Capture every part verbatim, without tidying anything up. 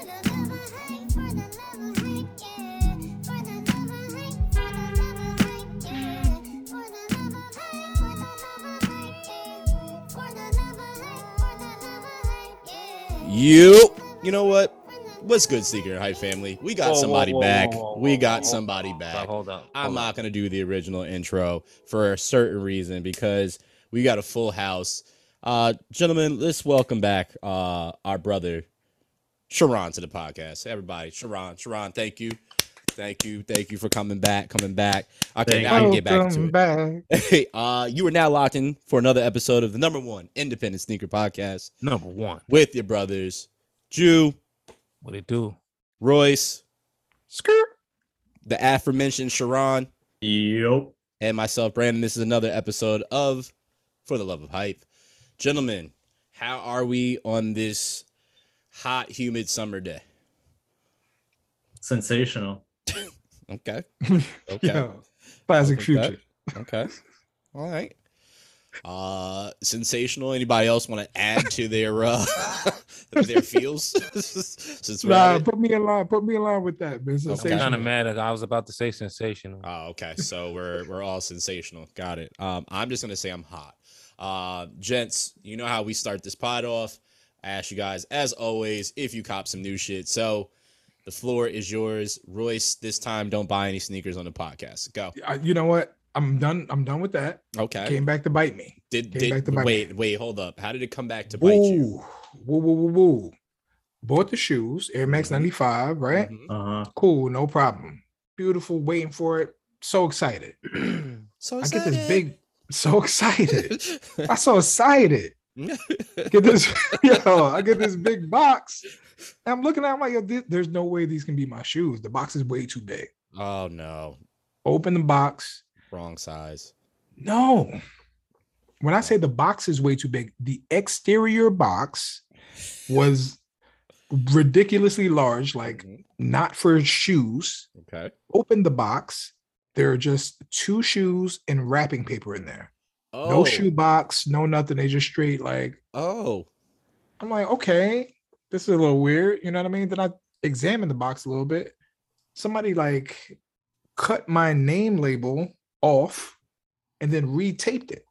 You, you know what? What's good, Sneaker Hype family? We got Whoa, somebody whoa, whoa, back. whoa, whoa, we whoa, got whoa, somebody hold back. Up, hold up. I'm hold not up. going to do the original intro for a certain reason because we got a full house. Uh, gentlemen, let's welcome back uh, our brother, Sharon, to the podcast. Everybody, Sharon, Sharon, thank you. Thank you. Thank you for coming back, coming back. Okay, now I can get back into it. Back. Hey, uh, you are now locked in for another episode of the number one independent sneaker podcast Number one. with your brothers, Jew, What it do? Royce, Skirt. the aforementioned Sharon, Yep. and myself, Brandon. This is another episode of For the Love of Hype. Gentlemen, how are we on this hot, humid summer day? Sensational. Okay. Okay. Yo, classic Okay. Future. Okay. All right. Uh, sensational. Anybody else want to add to their uh their feels? Since we're Nah, at it? put me in line. Put me in line with that, man. I'm Sensational. kind of mad. I was about to say sensational. Oh, okay. So we're we're all sensational. Got it. Um, I'm just gonna say I'm hot. Uh, gents, you know how we start this pod off. I ask you guys, as always, if you cop some new shit. So the floor is yours, Royce. This time, don't buy any sneakers on the podcast. Go. I- you know what? I'm done. I'm done with that. Okay. Came back to bite me. Did came did back to bite wait me. wait hold up? How did it come back to bite you? Woo, woo, woo, woo, woo. Bought the shoes, Air Max Mhm. ninety-five, right? Mhm. Uh-huh. Cool, no problem. Beautiful, waiting for it. So excited. So I get this excited. big, so excited. I'm so excited. Get this, yo, I get this big box. And I'm looking at it, I'm like, yo, this, there's no way these can be my shoes. The box is way too big. Oh no, Open the box. wrong size. No. When I say the box is way too big, the exterior box was ridiculously large, like Mhm. not for shoes. Okay. Open the box. There are just two shoes and wrapping paper in there. Oh. No shoe box, no nothing. They just straight like, Oh. I'm like, okay, this is a little weird. You know what I mean? Then I examined the box a little bit. Somebody like cut my name label off and then retaped it.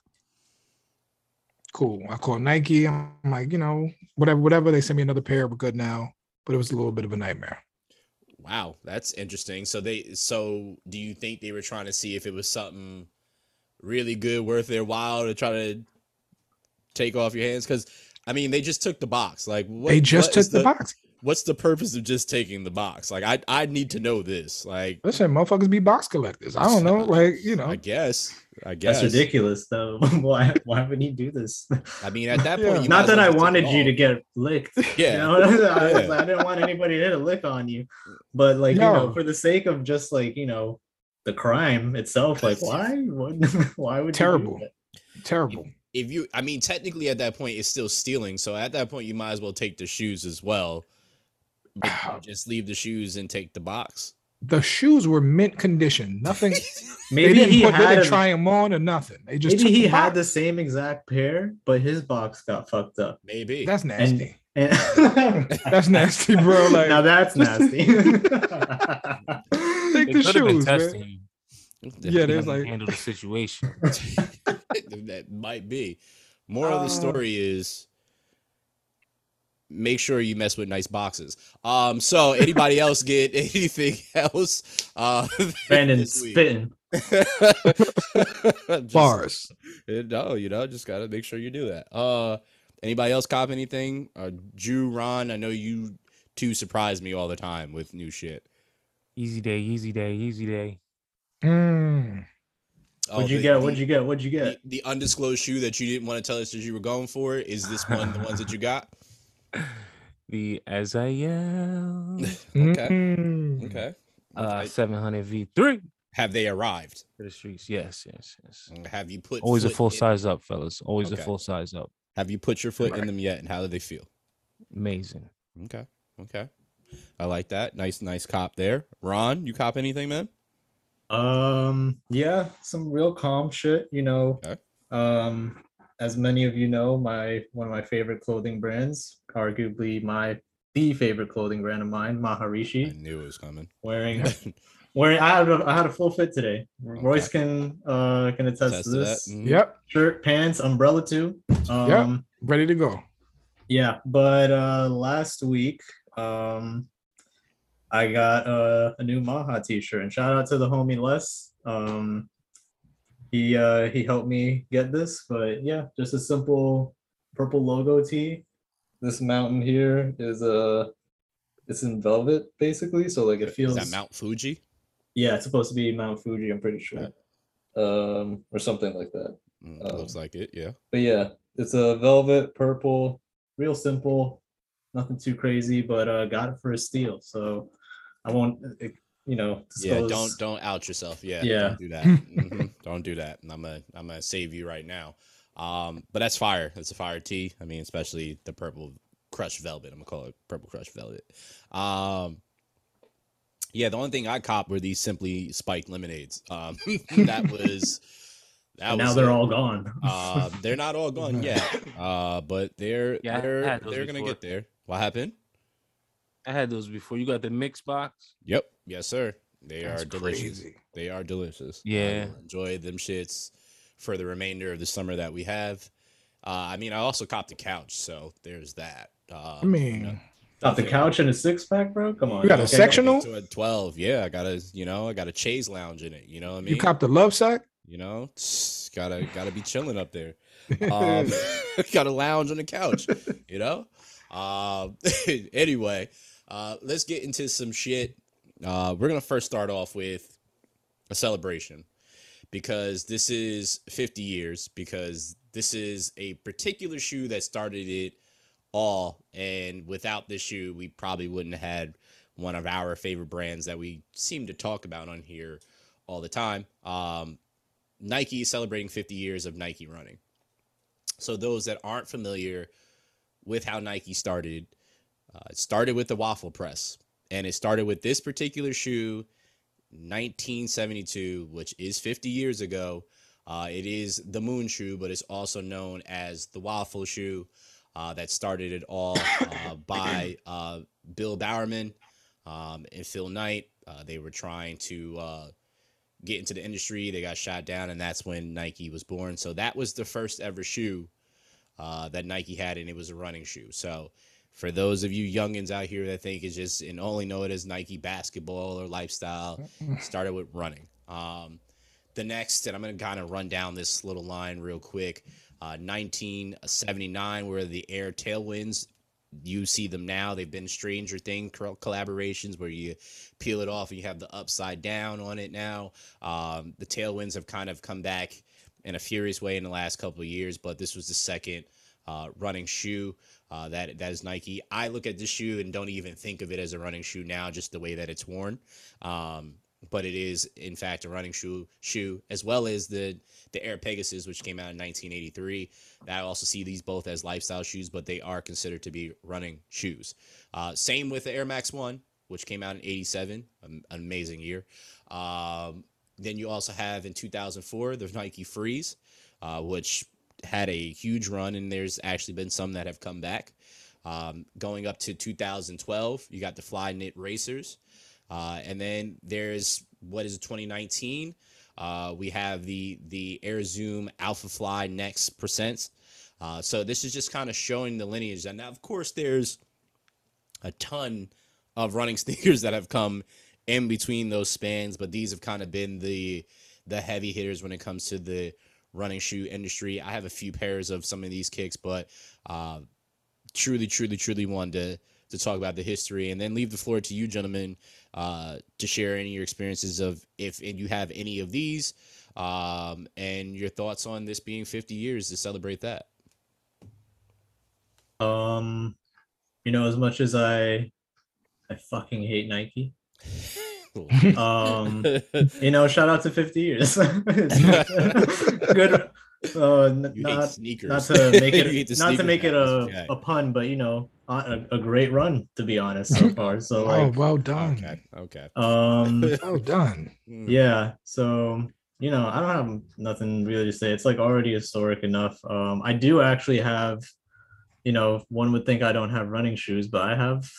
Cool. I called Nike. I'm like, you know, whatever, whatever. They sent me another pair. We're good now. But it was a little bit of a nightmare. Wow, that's interesting. So they so do you think they were trying to see if it was something really good, worth their while to try to take off your hands? Because I mean, they just took the box. Like, what, they just what took is the, box. What's the purpose of just taking the box? Like, I I need to know this. Like, Listen, motherfuckers be box collectors. I don't know. Like, you know. I guess, I guess That's ridiculous, though. why Why would he do this? I mean, at that Yeah. point, you Not might as that well I just take wanted it you to off. get licked. Yeah. You know? I, Yeah. I didn't want anybody to hit a lick on you. But like, No. you know, for the sake of just like, you know, the crime itself, like why? What, why would Terrible. You do that? Terrible. If you, I mean, technically at that point, it's still stealing. So at that point, you might as well take the shoes as well. But just leave the shoes and take the box. The shoes were mint condition. Nothing. they Maybe didn't he put, they had didn't a- try them on or nothing. They just maybe took he the had box. the same exact pair, but his box got fucked up. Maybe. That's nasty. And, and That's nasty, bro. Like, now that's just- nasty. take They the could have been shoes, testing man. you. Yeah, there's How you like, handle the situation. That might be. Moral of the Uh, story is make sure you mess with nice boxes. Um, so anybody else get anything else? Uh, Brandon this week? spitting. Just- bars. No, you know, just gotta make sure you do that. Uh, anybody else cop anything? Uh, Jew, Ron, I know you two surprise me all the time with new shit. Easy day, easy day, easy day. Mm. Oh, What'd you the- get? the- What'd you get? What'd you The, get? the undisclosed shoe that you didn't want to tell us that you were going for, is this one the ones that you got? The As I Am Okay. Mm. Okay. uh, Okay. seven hundred V three Have they arrived? for the streets. Yes, yes, yes. Have you put Always a foot full in- size up, fellas. Always Okay. a full size up. Have you put your foot in Right. them yet, and how do they feel? Amazing. Okay. Okay. I like that. Nice, nice cop there. Ron, you cop anything, man? Um, yeah, some real calm shit, you know. Okay. Um, as many of you know, my one of my favorite clothing brands, arguably my the favorite clothing brand of mine, I Maharishi. knew it was coming. Wearing, wearing. I had a, I had a full fit today. Royce can uh can attest Attest to to that. this. Mhm. Yep. Shirt, pants, umbrella too. Um, Yep. Ready to go. Yeah, but uh last week, um, I got uh, a new Maha t-shirt, and shout out to the homie Les. Um, he uh he helped me get this, but yeah, just a simple purple logo tee. This mountain here is uh it's in velvet basically, so like it feels Is that Mount Fuji? yeah, it's supposed to be Mount Fuji, I'm pretty sure. Um, or something like that. Mm, it looks Um, like it. Yeah. But yeah, it's a velvet purple, real simple, nothing too crazy, but uh got it for a steal. So I won't, uh, you know, Yeah. disclose. Don't don't out yourself. Yeah. Yeah. Don't do that. Mhm. Don't do that. And I'm gonna I'm gonna save you right now. Um, but that's fire. That's a fire tee. I mean, especially the purple crushed velvet. I'm gonna call it purple crushed velvet. Um, yeah. The only thing I copped were these simply spiked lemonades. Um, that was. That And now was they're it. all gone. Uh, they're not all gone yet. Uh, but they're Yeah, I they're had those they're gonna before. get there. What happened? I had those before. You got the mix box? Yep. Yes, sir. They That's are delicious. crazy. They are delicious. I Yeah. will enjoy them shits for the remainder of the summer that we have. Uh, I mean, I also copped a couch, so there's that. Uh, I mean, you know, Got the couch and a six pack, bro. Come on. You got a Okay. sectional? to a twelve. Yeah, I got a you know I got a chaise lounge in it. You know what I mean? you copped the love sack? You know, tss, gotta gotta be chilling up there. Um, gotta lounge on the couch. You know. Um, anyway, uh, let's get into some shit. Uh, we're gonna first start off with a celebration because this is fifty years. Because this is a particular shoe that started it all, and without this shoe, we probably wouldn't have had one of our favorite brands that we seem to talk about on here all the time. Um, Nike is celebrating fifty years of Nike running. So those that aren't familiar with how Nike started, uh, it started with the waffle press, and it started with this particular shoe, nineteen seventy-two, which is fifty years ago. Uh, it is the moon shoe, but it's also known as the waffle shoe. Uh, that started it all uh, by uh, Bill Bowerman um, and Phil Knight. Uh, they were trying to uh, get into the industry. They got shot down, and that's when Nike was born. So that was the first ever shoe uh, that Nike had, and it was a running shoe. So for those of you youngins out here that think it's just and only know it as Nike basketball or lifestyle, started with running. Um, the next, and I'm going to kind of run down this little line real quick. Uh, nineteen seventy-nine, where the Air Tailwinds, you see them now. They've been Stranger Thing collaborations where you peel it off and you have the upside down on it now. Um, the Tailwinds have kind of come back in a furious way in the last couple of years, but this was the second uh, running shoe uh, that that is Nike. I look at this shoe and don't even think of it as a running shoe now, just the way that it's worn. Um, but it is, in fact, a running shoe, shoe as well as the the Air Pegasus, which came out in nineteen eighty-three. I also see these both as lifestyle shoes, but they are considered to be running shoes. Uh, same with the Air Max one, which came out in eighty-seven, an amazing year. Um, then you also have in two thousand four the Nike Freeze, uh, which had a huge run, and there's actually been some that have come back. Um, going up to two thousand twelve, you got the Fly Knit Racers. Uh, and then there's what is it, twenty nineteen? Uh, we have the the Air Zoom Alpha Fly Next Percents. Uh, so this is just kind of showing the lineage. And now, of course, there's a ton of running sneakers that have come in between those spans, but these have kind of been the the heavy hitters when it comes to the running shoe industry. I have a few pairs of some of these kicks, but uh, truly, truly, truly wanted to to talk about the history, and then leave the floor to you, gentlemen, uh, to share any of your experiences of if and you have any of these, um, and your thoughts on this being fifty years to celebrate that. Um, you know, as much as I, I fucking hate Nike. Um, you know, shout out to fifty years. Good. Uh, n- You hate not sneakers. not to make You hate it the not to sneakers make it now, a, that's okay. a pun, but you know, a, a great run to be honest so far. So Oh, like, well done. Okay, okay. um, Well done. Mm. yeah. So you know, I don't have nothing really to say. It's like already historic enough. Um, I do actually have, you know, one would think I don't have running shoes, but I have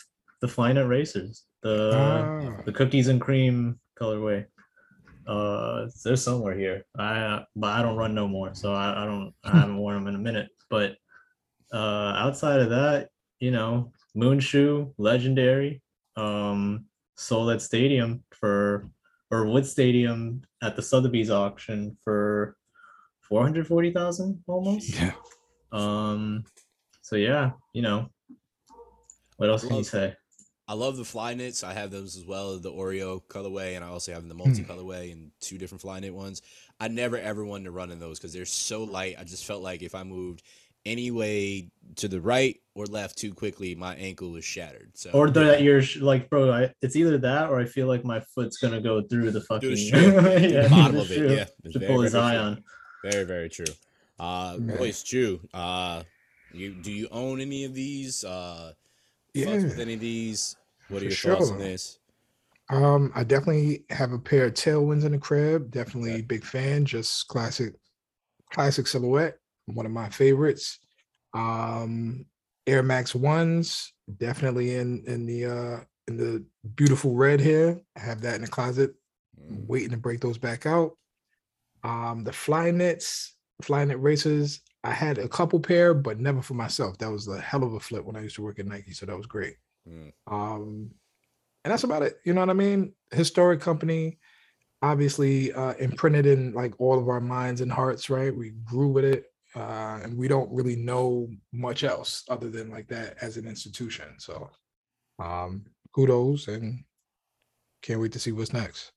the Flyknit Racers, the Ah. the cookies and cream colorway. Uh, they're somewhere here. I but I don't run no more, so I, I don't I haven't worn them in a minute. But uh, outside of that, you know, Moonshoe, legendary. Um, sold at Stadium for or Wood Stadium at the Sotheby's auction for four hundred forty thousand almost. Yeah. Um, so yeah, you know, what else can you love- say? I love the fly knits. I have those as well, the Oreo colorway, and I also have the Hmm. multi colorway and two different fly knit ones. I never ever wanted to run in those because they're so light. I just felt like if I moved any way to the right or left too quickly, my ankle was shattered. So Or that you're sh- like, bro, I, it's either that or I feel like my foot's gonna go through the fucking through the shoe, through yeah, the bottom the of it. shoe Yeah, it's to very, pull his very eye true. on. Very, very true. Uh, Man. Royce Jew, uh, you do you own any of these? Uh, Yeah. fucks with any of these? What are For your thoughts on sure. this? Um, I definitely have a pair of tailwinds in the crib. Definitely Okay. big fan. Just classic, classic silhouette. One of my favorites. Um, Air Max ones, definitely in in the uh in the beautiful red here. I have that in the closet, Mm. waiting to break those back out. Um, the fly knits, fly knit racers. I had a couple pair, but never for myself. That was a hell of a flip when I used to work at Nike, so that was great. Mm. Um, and that's about it. You know what I mean? Historic company, obviously uh, imprinted in like all of our minds and hearts, right? We grew with it, uh, and we don't really know much else other than like that as an institution. So, um, kudos, and can't wait to see what's next.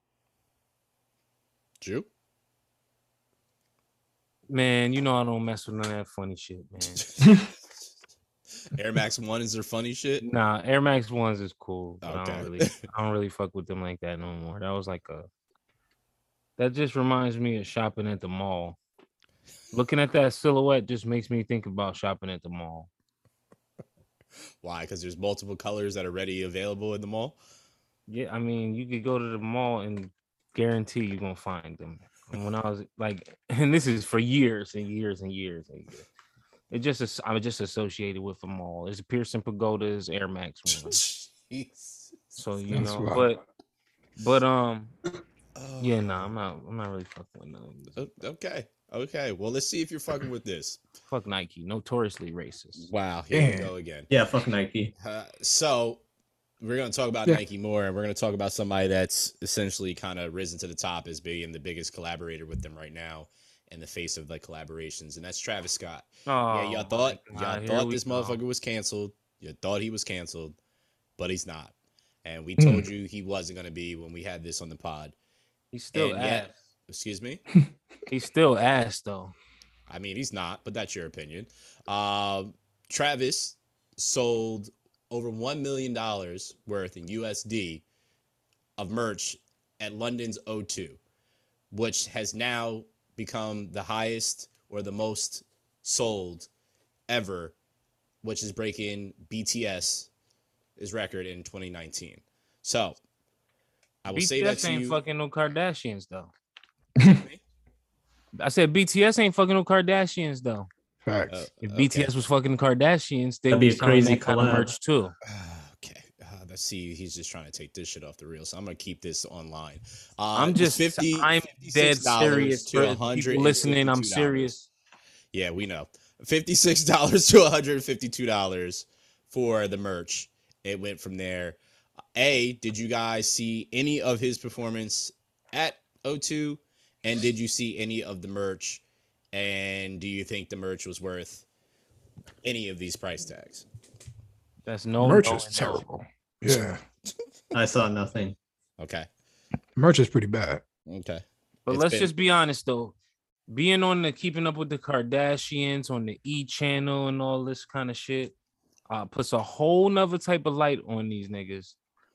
Jew? Man, you know I don't mess with none of that funny shit, man. Air Max One is their funny shit. Nah, Air Max ones is cool. But I Okay. don't really I don't really fuck with them like that no more. That was like a that just reminds me of shopping at the mall. Looking at that silhouette just makes me think about shopping at the mall. Why? Because there's multiple colors that are ready available in the mall. Yeah, I mean, you could go to the mall and guarantee you're gonna find them. And when I was like, and this is for years and years and years and years. It just is, I was just associated with the mall. There's Pearson Pagoda's Air Max one. Jeez. So you That's know, wild. but but um, Oh. yeah, nah, I'm not, I'm not really fucking with none of these. O- Okay. Okay. Well, let's see if you're fucking with this. Fuck Nike, notoriously racist. Wow. Here we Damn. go again. Yeah, fuck Nike. Uh, so we're going to talk about Yeah. Nike more, and we're going to talk about somebody that's essentially kind of risen to the top as being the biggest collaborator with them right now in the face of like collaborations, and that's Travis Scott. Oh, yeah, y'all my thought God, y'all here thought we this go. motherfucker was canceled. You thought he was canceled, but he's not. And we Mm. told you he wasn't going to be when we had this on the pod. He's still and ass. yet- Excuse me. He's still ass though. I mean, he's not, but that's your opinion. Um, Travis sold over one million dollars worth in U S D of merch at London's O two, which has now become the highest or the most sold ever, which is breaking B T S's record in twenty nineteen. So I will B T S say that to ain't you. fucking no Kardashians though. Excuse me? I said B T S ain't fucking no Kardashians though. Facts. Uh, If okay. B T S was fucking Kardashians, they That'd would be be a selling crazy that kind of collab. merch too. Okay. Uh, let's see. He's just trying to take this shit off the reel, so I'm gonna keep this online. Uh, I'm it's just, fifty. I'm dead fifty-six dollars serious. to For one hundred people listening, I'm fifty-two dollars. serious. Yeah, we know. Fifty-six dollars to one hundred fifty-two dollars for the merch. It went from there. A, did you guys see any of his performance at O two? And did you see any of the merch? And do you think the merch was worth any of these price tags? That's no Merch no, is and no. terrible. Yeah, I saw nothing. Okay. merch is pretty bad. Okay. But It's let's been- just be honest though. Being on the Keeping Up with the Kardashians on the E channel and all this kind of shit uh, puts a whole nother type of light on these niggas.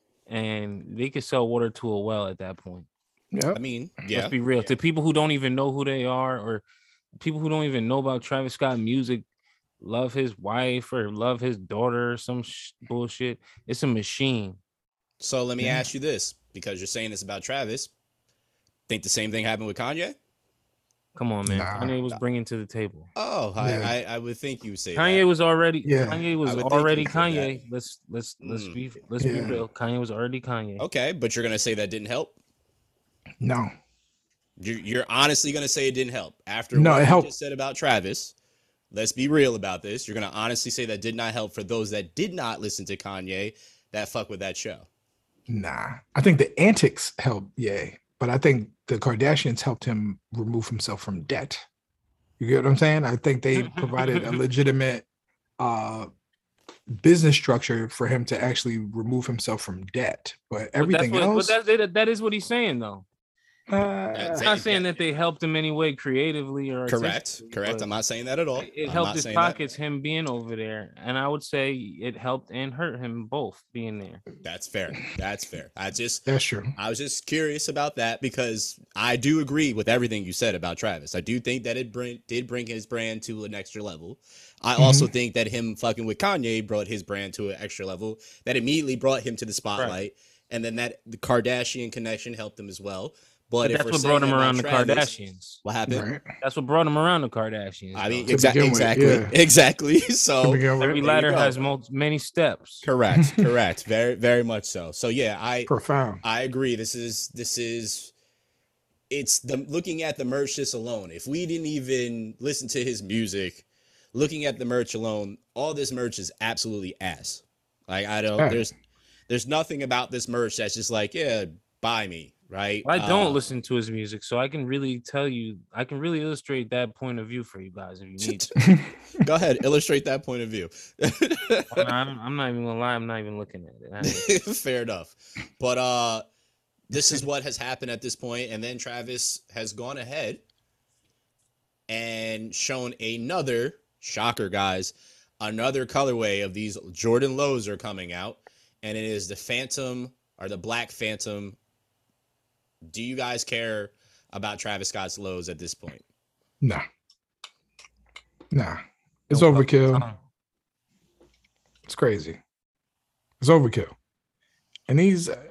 And they could sell water to a well at that point. Yeah, I mean, yeah. Let's be real. yeah. To people who don't even know who they are, or people who don't even know about Travis Scott music, love his wife or love his daughter or some sh- bullshit. It's a machine. So let me Yeah. ask you this, because you're saying this about Travis. Think the same thing happened with Kanye? Come on, man. Nah. Kanye was bringing to the table. Oh, Yeah. I, I I would think you would say Kanye that. was already Yeah. Kanye was I would think already you'd say that. Kanye. Let's let's let's Mm. be let's be Yeah. real. Kanye was already Kanye. Okay, but you're gonna say that didn't help. No. You're, you're honestly gonna say it didn't help after No, what it you helped. just said about Travis. Let's be real about this. You're gonna honestly say that did not help for those that did not listen to Kanye that fuck with that show. Nah. I think the antics helped, yay. But I think the Kardashians helped him remove himself from debt. You get what I'm saying? I think they provided a legitimate uh business structure for him to actually remove himself from debt. But everything but that's what, else, But that's, that, that is what he's saying, though. uh, That's I'm not it. saying that they helped him any way creatively or Correct, artistically, correct. but I'm not saying that at all. It I'm helped not his saying that. pockets, him being over there, and I would say it helped and hurt him both being there. That's fair. That's fair. I just that's true. I was just curious about that because I do agree with everything you said about Travis. I do think that it bring, did bring his brand to an extra level. I also think that him fucking with Kanye brought his brand to an extra level that immediately brought him to the spotlight. And then that the Kardashian connection helped him as well. But, But if that's we're what saying brought him about around the Travis, Kardashians. what happened? Right. That's what brought him around the Kardashians. I mean, though. exa- begin with, exactly, yeah. exactly. To So begin with. every there you ladder go. has mul- many steps. correct, correct, very, very much so. So yeah, I Profound. I agree. This is this is it's the looking at the merch just alone. If we didn't even listen to his music, looking at the merch alone, all this merch is absolutely ass. Like I don't Yeah. there's there's nothing about this merch that's just like, yeah, buy me, right? I don't Uh, listen to his music, so I can really tell you, I can really illustrate that point of view for you guys if you need to. Go ahead, illustrate that point of view. I'm, I'm not even gonna lie, I'm not even looking at it. I ain't- Fair enough. But uh this is what has happened at this point, and then Travis has gone ahead and shown another shocker, guys. Another colorway of these Jordan Lows are coming out, and it is the Phantom or the Black Phantom. Do you guys care about Travis Scott's lows at this point? Nah. Nah. It's No fucking overkill. time. It's crazy. It's overkill. And these, uh,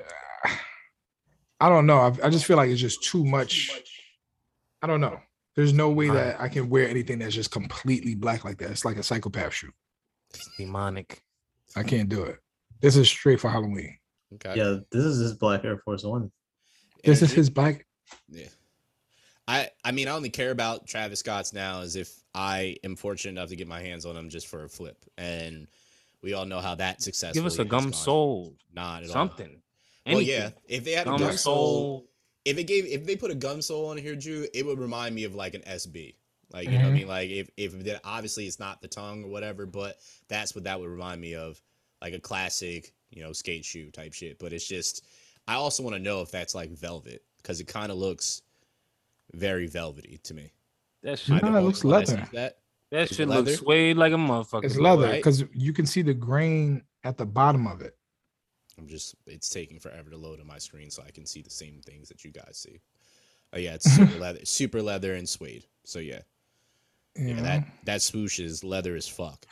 I don't know. I, I just feel like it's just too much. I don't know. There's no way that I can wear anything that's just completely black like that. It's like a psychopath shoe. Demonic. I can't do it. This is straight for Halloween. Okay. Yeah, this is his black Air Force One. This is Energy? his black. Yeah. I I mean, I only care about Travis Scott's now as if I am fortunate enough to get my hands on him just for a flip. And we all know how that successful. Give us a gum sole, Not at all. something. Well, Anything. yeah. If they had a Gum gum sole, sole. if it gave, if they put a gum sole on here, Drew, it would remind me of like an S B. Like, you know what I Mhm. mean? Like, if, if that obviously it's not the tongue or whatever, but that's what that would remind me of. Like a classic, you know, skate shoe type shit. But it's just, I also want to know if that's like velvet because it kind of looks very velvety to me. That I shit, No, don't it know looks if I see leather. That. that Is it shit leather? looks suede like a motherfucker. It's bro. leather right? because you can see the grain at the bottom of it. I'm just, it's taking forever to load on my screen so I can see the same things that you guys see. Oh, yeah, it's super leather, super leather and suede. So, yeah. You Yeah, know? that, that swoosh is leather as fuck.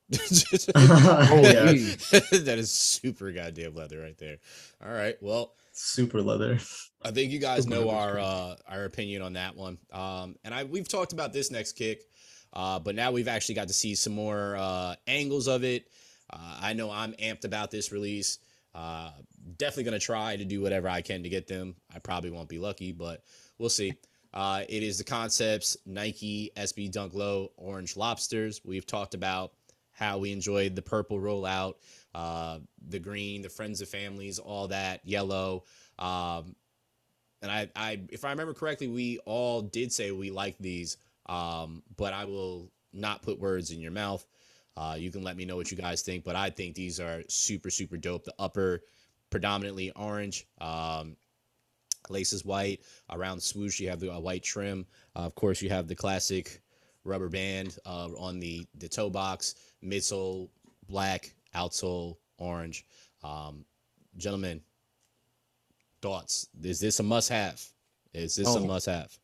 Oh, yeah, geez. That is super goddamn leather right there. All right. Well, super leather. I think you guys Super know leather's our crazy. uh, our opinion on that one. Um, and I we've talked about this next kick, uh, but now we've actually got to see some more uh, angles of it. Uh, I know I'm amped about this release. Uh, definitely gonna try to do whatever I can to get them. I probably won't be lucky, but we'll see. Uh, it is the Concepts Nike S B Dunk Low Orange Lobsters. We've talked about how we enjoyed the purple rollout, uh, the green, the friends of families, all that yellow. Um, and I, I, if I remember correctly, we all did say we like these, um, but I will not put words in your mouth. Uh, you can let me know what you guys think, but I think these are super, super dope. The upper predominantly orange, um, laces white. Around the swoosh, you have the uh, white trim. Uh, of course, you have the classic rubber band uh, on the, the toe box, midsole black, outsole orange. Um, gentlemen, thoughts? Is this a must-have? Is this a No. must-have?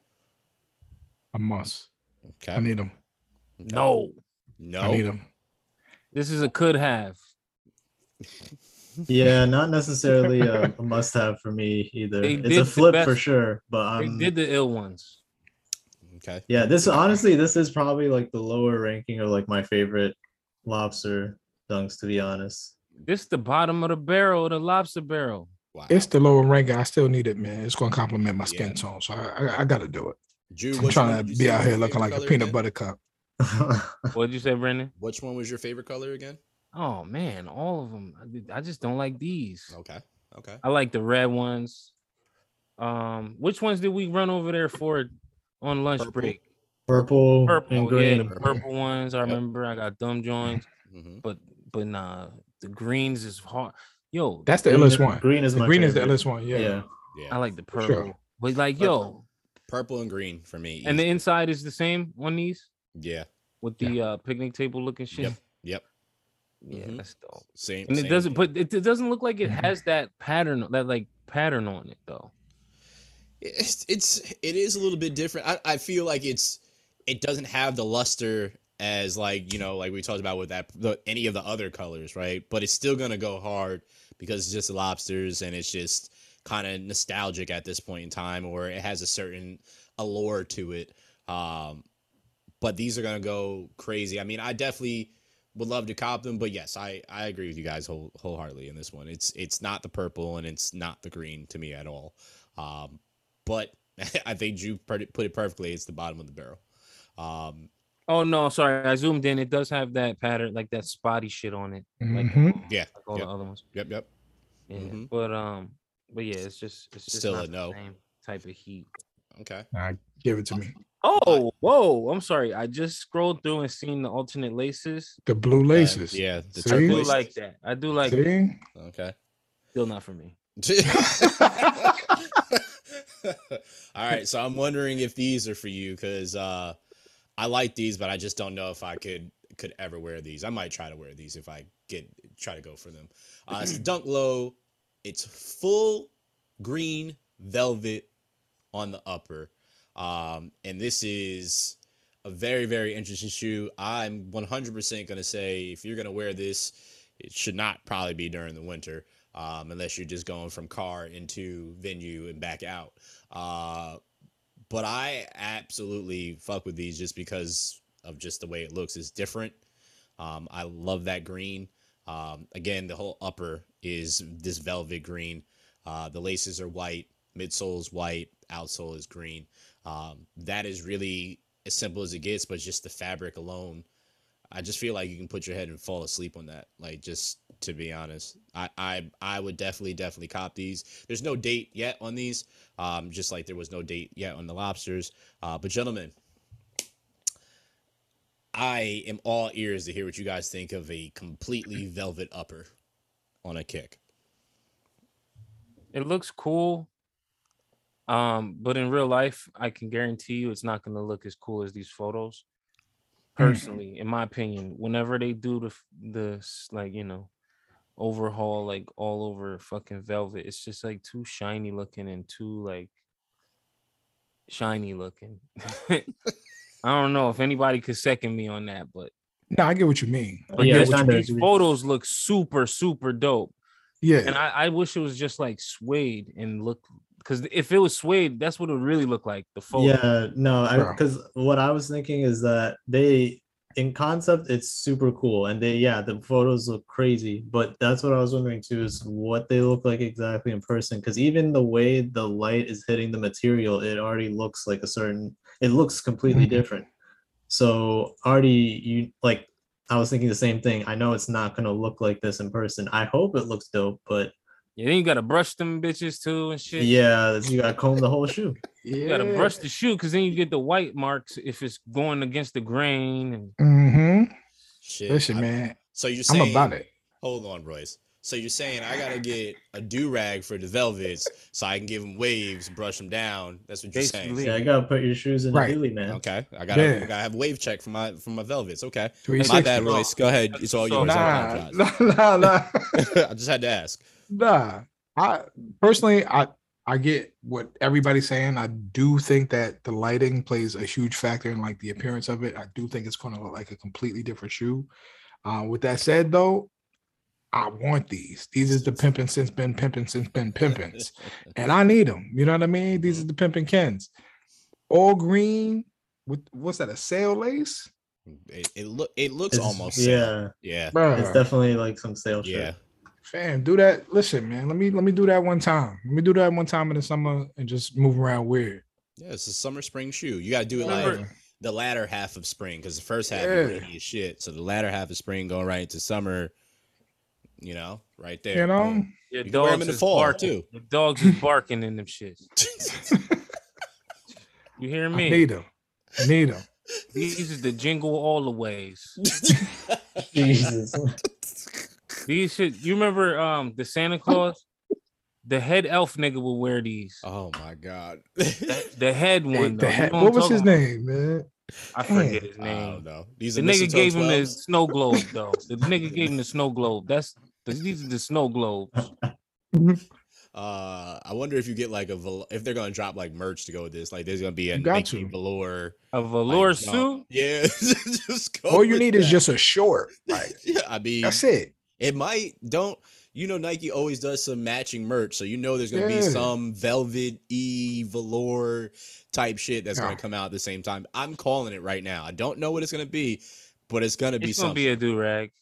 A must. Okay. I need them. No, no. I need them. this is a could have. Yeah, not necessarily a, a must-have for me either. They It's did a the flip for best- sure, but They I'm did the ill ones. Okay. Yeah, this honestly, this is probably like the lower ranking of like my favorite lobster dunks, to be honest. This the bottom of the barrel, the lobster barrel. Wow. It's the lower ranking. I still need it, man. It's gonna complement my skin Yeah. tone, so I, I, I got to do it. Drew, I'm which one trying did to you be say out was here your looking favorite like a color peanut again? butter cup. What'd you say, Brendan? Which one was your favorite color again? Oh man, all of them. I, did- I just don't like these. Okay. Okay. I like the red ones. Um, which ones did we run over there for on lunch Purple. break? Purple, Purple, and yeah, green. the purple ones. I Yep. remember I got dumb joints, hmm but but nah, the greens is hard. Yo, That's the Green illest is- one. green is the my green is the favorite. illest one. Yeah. Yeah. Yeah. I like the For purple. sure. But like, But- yo, Purple and green for me. and the easy. inside is the same on these Yeah. with the uh picnic table looking shit. Yep. Yep. Yeah, Mhm. that's dope. Same. And it same doesn't, here. but it, it doesn't look like it Mhm. has that pattern, that like pattern on it though. It's it's it is a little bit different. I, I feel like it's it doesn't have the luster as like you know like we talked about with that the, any of the other colors, right? But it's still gonna go hard because it's just lobsters and it's just kind of nostalgic at this point in time, or it has a certain allure to it. Um, but these are gonna go crazy. I mean, I definitely would love to cop them, but yes, I I agree with you guys whole, wholeheartedly in this one. It's it's not the purple and it's not the green to me at all. Um, but I think Drew put it, put it perfectly. It's the bottom of the barrel. Um, Oh no, sorry, I zoomed in. It does have that pattern, like that spotty shit on it, like, Mhm. yeah, like all yep, the other ones. yep, yep. Yeah, Mhm. but um, but yeah, it's just it's just Still not a the no. same type of heat. Okay. Nah, give it to me. Oh, whoa! I'm sorry. I just scrolled through and seen the alternate laces. The blue laces. Yeah, the See? I do turquoise. like that. I do like. See? Okay. Still not for me. All right, so I'm wondering if these are for you because uh, I like these, but I just don't know if I could could ever wear these. I might try to wear these if I get try to go for them. Uh, it's Dunk Low. It's full green velvet on the upper, um, and this is a very very interesting shoe. I'm one hundred percent gonna say if you're gonna wear this, it should not probably be during the winter. Um, unless you're just going from car into venue and back out. Uh, but I absolutely fuck with these just because of just the way it looks. It's different. Um, I love that green. Um, again, the whole upper is this velvet green. Uh, the laces are white, midsole is white, outsole is green. Um, that is really as simple as it gets, but just the fabric alone, I just feel like you can put your head and fall asleep on that. Like, just to be honest, I I, I would definitely, definitely cop these. There's no date yet on these, um, just like there was no date yet on the lobsters. Uh, but gentlemen, I am all ears to hear what you guys think of a completely velvet upper on a kick. It looks cool. Um, but in real life, I can guarantee you it's not gonna look as cool as these photos. Personally, in my opinion, whenever they do the the s- like you know overhaul like all over fucking velvet, it's just like too shiny looking and too like shiny looking. I don't know if anybody could second me on that, but No, I get what you mean. I Oh, Yeah, get I what you kinda mean. these agree. photos look super super dope. Yeah. And I, I wish it was just like suede and look, because if it was suede, that's what it would really look like. The photo. Yeah, no, I Bro. because what I was thinking is that they in concept it's super cool and they yeah the photos look crazy, but that's what I was wondering too is what they look like exactly in person because even the way the light is hitting the material, it already looks like a certain it looks completely Mhm. different. So already you like I was thinking the same thing. I know it's not gonna look like this in person. I hope it looks dope, but Yeah, then you gotta brush them bitches too and shit. yeah, you gotta comb the whole shoe. You gotta brush the shoe because then you get the white marks if it's going against the grain. And Mm-hmm. Shit. Listen, I- man, so you're I'm saying, about it. hold on, Royce. So you're saying I gotta get a do rag for the velvets so I can give them waves, brush them down. That's what you're Basically. Yeah, I gotta put your shoes in Right. the Dilly, man. saying. Okay, I gotta, Yeah. I gotta have a wave check for my for my velvets. Okay, three my sixty. bad, Royce. Go ahead. It's all So- yours. I Nah, apologize. nah, nah, nah. I just had to ask. Nah. I personally, I I get what everybody's saying. I do think that the lighting plays a huge factor in like the appearance of it. I do think it's going to look like a completely different shoe. Uh, with that said, though, I want these. These is the pimping since been pimping since been pimpins, and I need them. You know what I mean? These are the pimping Kens. All green With what's that? A sail lace? It, it look it looks It's- almost yeah. sail. Yeah. Bruh. It's definitely like some sale shit. Yeah. Fam, do that. Listen, man. Let me let me do that one time. Let me do that one time in the summer and just move around weird. Yeah, it's a summer spring shoe. You gotta do it Remember- like the latter half of spring because the first half Yeah. is rainy as shit. So the latter half of spring going right into summer, you know, right there. You know? Boom. Your You can wear 'em dogs in the is fall, barking. too. Your dogs is barking in them shits. You hear I me? need them. I need them. These is the jingle all the ways. Jesus. These shit. You remember um the Santa Claus? The head elf nigga will wear these. Oh my god. The, the head Hey, one. the Though. You head- know what was I'm his talking name, man? about? I forget Damn. his I name. don't know. These The are nigga mistletoe gave him the twelves? snow globe though. The nigga gave him the snow globe. That's these are the snow globes. Uh, I wonder if you get like a vel- if they're gonna drop like merch to go with this. Like, there's gonna be a You got Nike to. velour A velour like, suit. jump. Yeah, just go All you with need is that. just a short. Like Yeah, I mean, that's it. it might don't. You know, Nike always does some matching merch, so you know there's gonna be Yeah. some velvet e velour type shit that's Yeah. gonna come out at the same time. I'm calling it right now. I don't know what it's gonna be, but it's gonna be It's gonna something. be a do rag.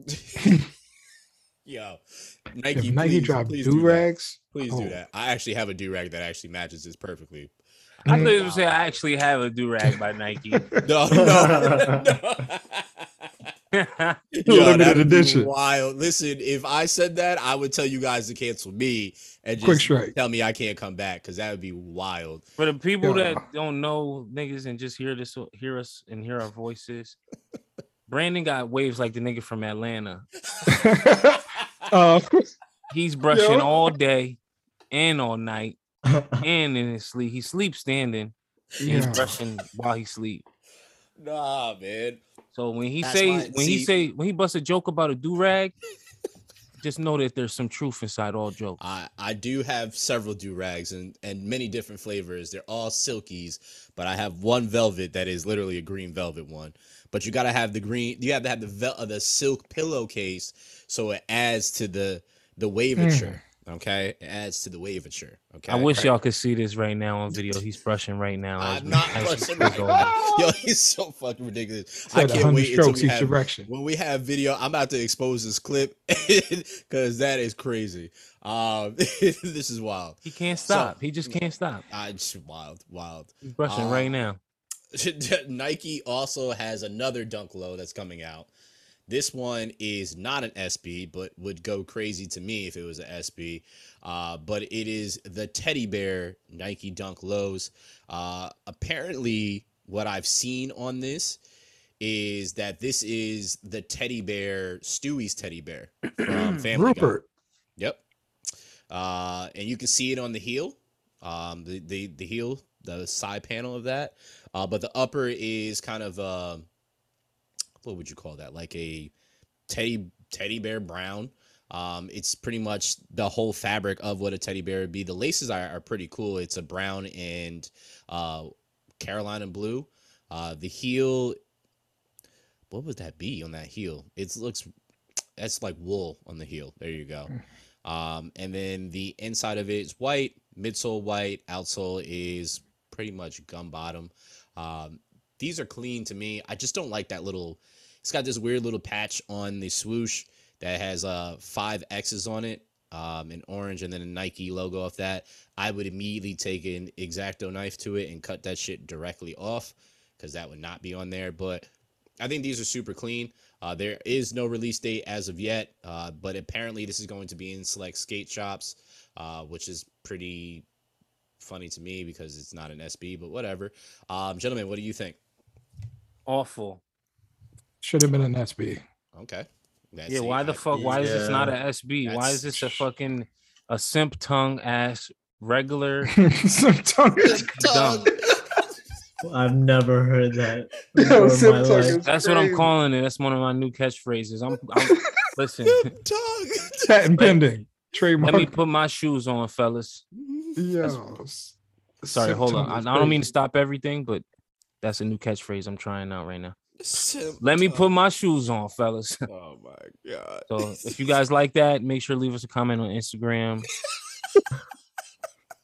Yo, Nike, If Nike please, drop please do do that. rags, Please oh. do that. I actually have a do rag that actually matches this perfectly. I Mm. thought you would say I actually have a do rag by Nike. No, no, no. Yo, Limited that'd be edition. wild. Listen, if I said that, I would tell you guys to cancel me and Quick just strike. tell me I can't come back because that would be wild. For the people Yeah. that don't know niggas and just hear this, hear us and hear our voices, Brandon got waves like the nigga from Atlanta. uh, He's brushing Yo. all day and all night and in his sleep. He sleeps standing. And he's yeah. brushing while he sleep. Nah, man. So when he That's say why- when he see- say when he busts a joke about a do rag, just know that there's some truth inside all jokes. I, I do have several do rags and, and many different flavors. They're all silkies, but I have one velvet that is literally a green velvet one. But you gotta have the green. You have to have the vel- uh, the silk pillowcase so it adds to the the wavature. Okay, it adds to the wavature. Okay, I wish y'all could see this right now on video. He's brushing right now. as I'm we- not as we brushing speak right on now. Yo, he's so fucking ridiculous. I Said can't one hundred wait until strokes we each have, direction. when we have video. I'm about to expose this clip because that is crazy. Um, this is wild. He can't So- stop. he just can't stop. I just wild, wild. He's brushing Uh, right now. Nike also has another Dunk Low that's coming out. This one is not an S B, but would go crazy to me if it was an S B. Uh, but it is the Teddy Bear Nike Dunk Lows. Uh, apparently, what I've seen on this is that this is the Teddy Bear, Stewie's Teddy Bear from Family Guy. Rupert. Yep. Uh, and you can see it on the heel, um, the, the, the heel, the side panel of that. Uh, but the upper is kind of, uh, what would you call that? Like a teddy, teddy bear brown. Um, it's pretty much the whole fabric of what a teddy bear would be. The laces are, are pretty cool. It's a brown and, uh, Carolina blue. Uh, the heel, what would that be on that heel? It looks, that's like wool on the heel. There you go. Um, and then the inside of it is white, midsole white, outsole is pretty much gum bottom. Um, these are clean to me. I just don't like that little, it's got this weird little patch on the swoosh that has uh five X's on it, um, in orange, and then a Nike logo off that. I would immediately take an X-Acto knife to it and cut that shit directly off because that would not be on there. But I think these are super clean. Uh, there is no release date as of yet, uh, but apparently this is going to be in select skate shops, uh, which is pretty funny to me because it's not an S B, but whatever. Um, gentlemen, what do you think? Awful. Should have been an S B. Okay. That's Yeah, it. why the I- fuck? Why is this not Yeah. a S B? Why That's- is this a fucking a simp tongue ass regular? Some tongue is Dumb. I've never heard that Yo, before in Sim my Tuck life. is- That's what I'm crazy. calling it. That's one of my new catchphrases. I'm, I'm listen. Tongue. patent pending. Trademark. Let me put my shoes on, fellas. Yo, Sorry, Sim hold Tuck on. I, is I don't mean to crazy. stop everything, but that's a new catchphrase I'm trying out right now. Sim Let me tongue. put my shoes on, fellas. Oh my god. So if you guys like that, make sure to leave us a comment on Instagram.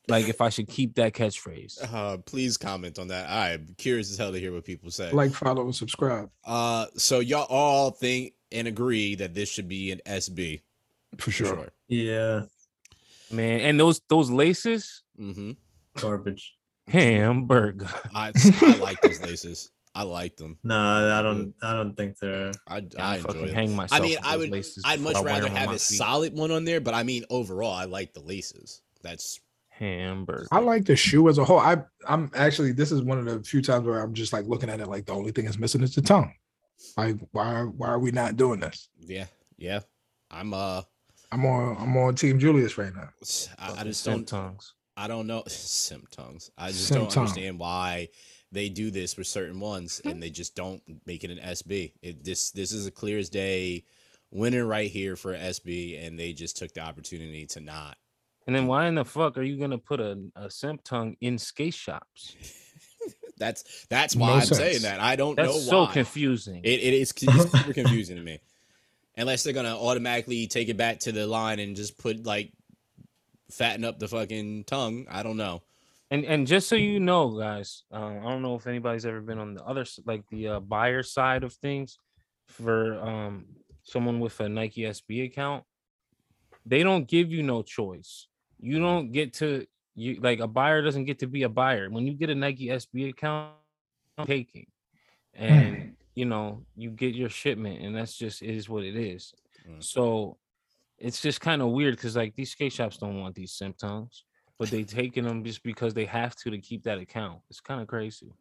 like if I should keep that catchphrase. Uh, please comment on that. I'm curious as hell to hear what people say. Like, follow, and subscribe Uh, so y'all all think and agree that this should be an S B for for sure. sure. Yeah, Man, and those those laces, Mm-hmm. garbage. hamburger. I I like those laces. I like them. No, I don't. I don't think they're. I I I enjoy fucking them. hang myself. I mean, with I those would. laces I'd much before I wear rather them on have my a feet. solid one on there, but I mean, overall, I like the laces. That's hamburger. I like the shoe as a whole. I I'm actually this is one of the few times where I'm just like looking at it like the only thing is missing is the tongue. Like why why are we not doing this? yeah, yeah. I'm uh, I'm on I'm on Team Julius right now. I, I just Simp don't. tongues. I don't know. Simp tongues. I just Simp don't tongue. understand why they do this with certain ones and they just don't make it an S B. It this this is a clear as day winner right here for S B, and they just took the opportunity to not. And then why in the fuck are you gonna put a, a simp tongue in skate shops? That's that's why No I'm sense. saying that. I don't That's know so why. confusing. It it is it's super confusing to me. Unless they're gonna automatically take it back to the line and just put like fatten up the fucking tongue. I don't know. And and just so you know, guys, uh, I don't know if anybody's ever been on the other s- like the uh, buyer side of things for um someone with a Nike S B account. They don't give you no choice. You don't get to you like a buyer doesn't get to be a buyer. When you get a Nike S B account, taking and you know you get your shipment, and that's just it is what it is. Mm. So it's just kind of weird because like these skate shops don't want these simp tongues, but they taking them just because they have to to keep that account. It's kind of crazy.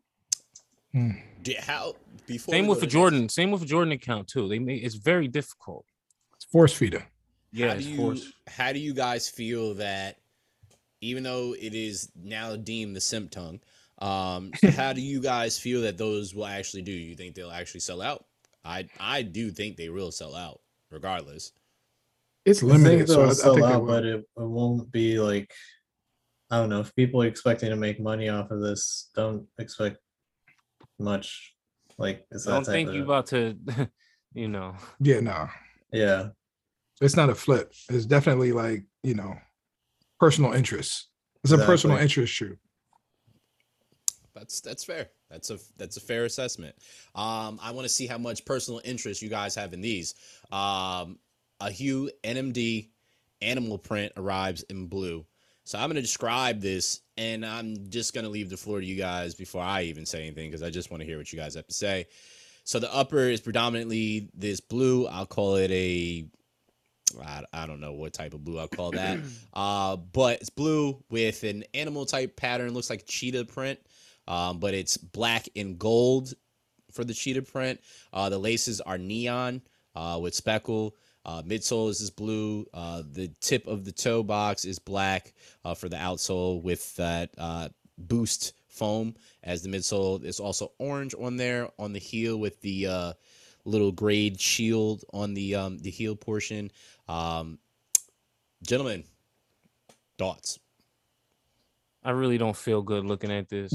Do- How before Same we with go the to Jordan. next- Same with the Jordan account too. They make it's very difficult. It's force feeder. Yeah, how it's do you forced. how do you guys feel that even though it is now deemed the simp tongue, um, how do you guys feel that those will actually do? You think they'll actually sell out? I I do think they will sell out, regardless. It's I think limited, so I, they'll I sell think they out, will. but it, it won't be like. I don't know if people are expecting to make money off of this. Don't expect much. Like it's I that don't type think of. you about to, you know. Yeah, no, Yeah, it's not a flip. It's definitely like you know, personal interest. It's a personal Exactly. interest shoe. That's that's fair. That's a that's a fair assessment. Um, I want to see how much personal interest you guys have in these. Um, a Hue N M D animal print arrives in blue. So I'm going to describe this, and I'm just going to leave the floor to you guys before I even say anything because I just want to hear what you guys have to say. So the upper is predominantly this blue. I'll call it a I, I don't know what type of blue I'll call that. Uh, but it's blue with an animal type pattern. Looks like cheetah print, um, but it's black and gold for the cheetah print. Uh, the laces are neon uh, with speckle. Uh, midsole is this blue. Uh, the tip of the toe box is black uh, for the outsole with that uh, boost foam as the midsole. There's also orange on there on the heel with the uh, little grade shield on the um, the heel portion. Um, gentlemen, thoughts? I really don't feel good looking at this.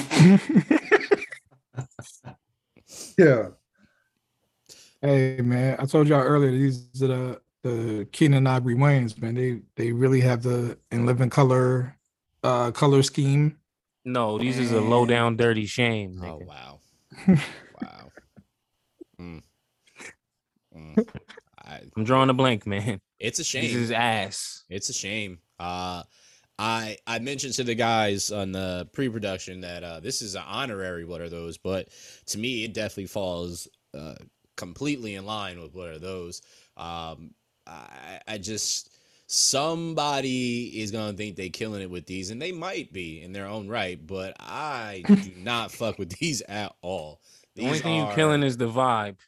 Yeah. Hey man, I told y'all earlier these are the the Keenan Ivory Waynes, man. They they really have the in living color uh color scheme. No, these is a low down dirty shame. Oh Nigga. wow, wow. Mm. Mm. I, I'm drawing a blank, man. it's a This shame. is ass. It's a shame. Uh, I I mentioned to the guys on the pre-production that uh, this is an honorary what are those, but to me it definitely falls uh, completely in line with what are those. Um, I I just somebody is gonna think they killing it with these, and they might be in their own right, but I do not fuck with these at all. The only These thing are- you killing is the vibe.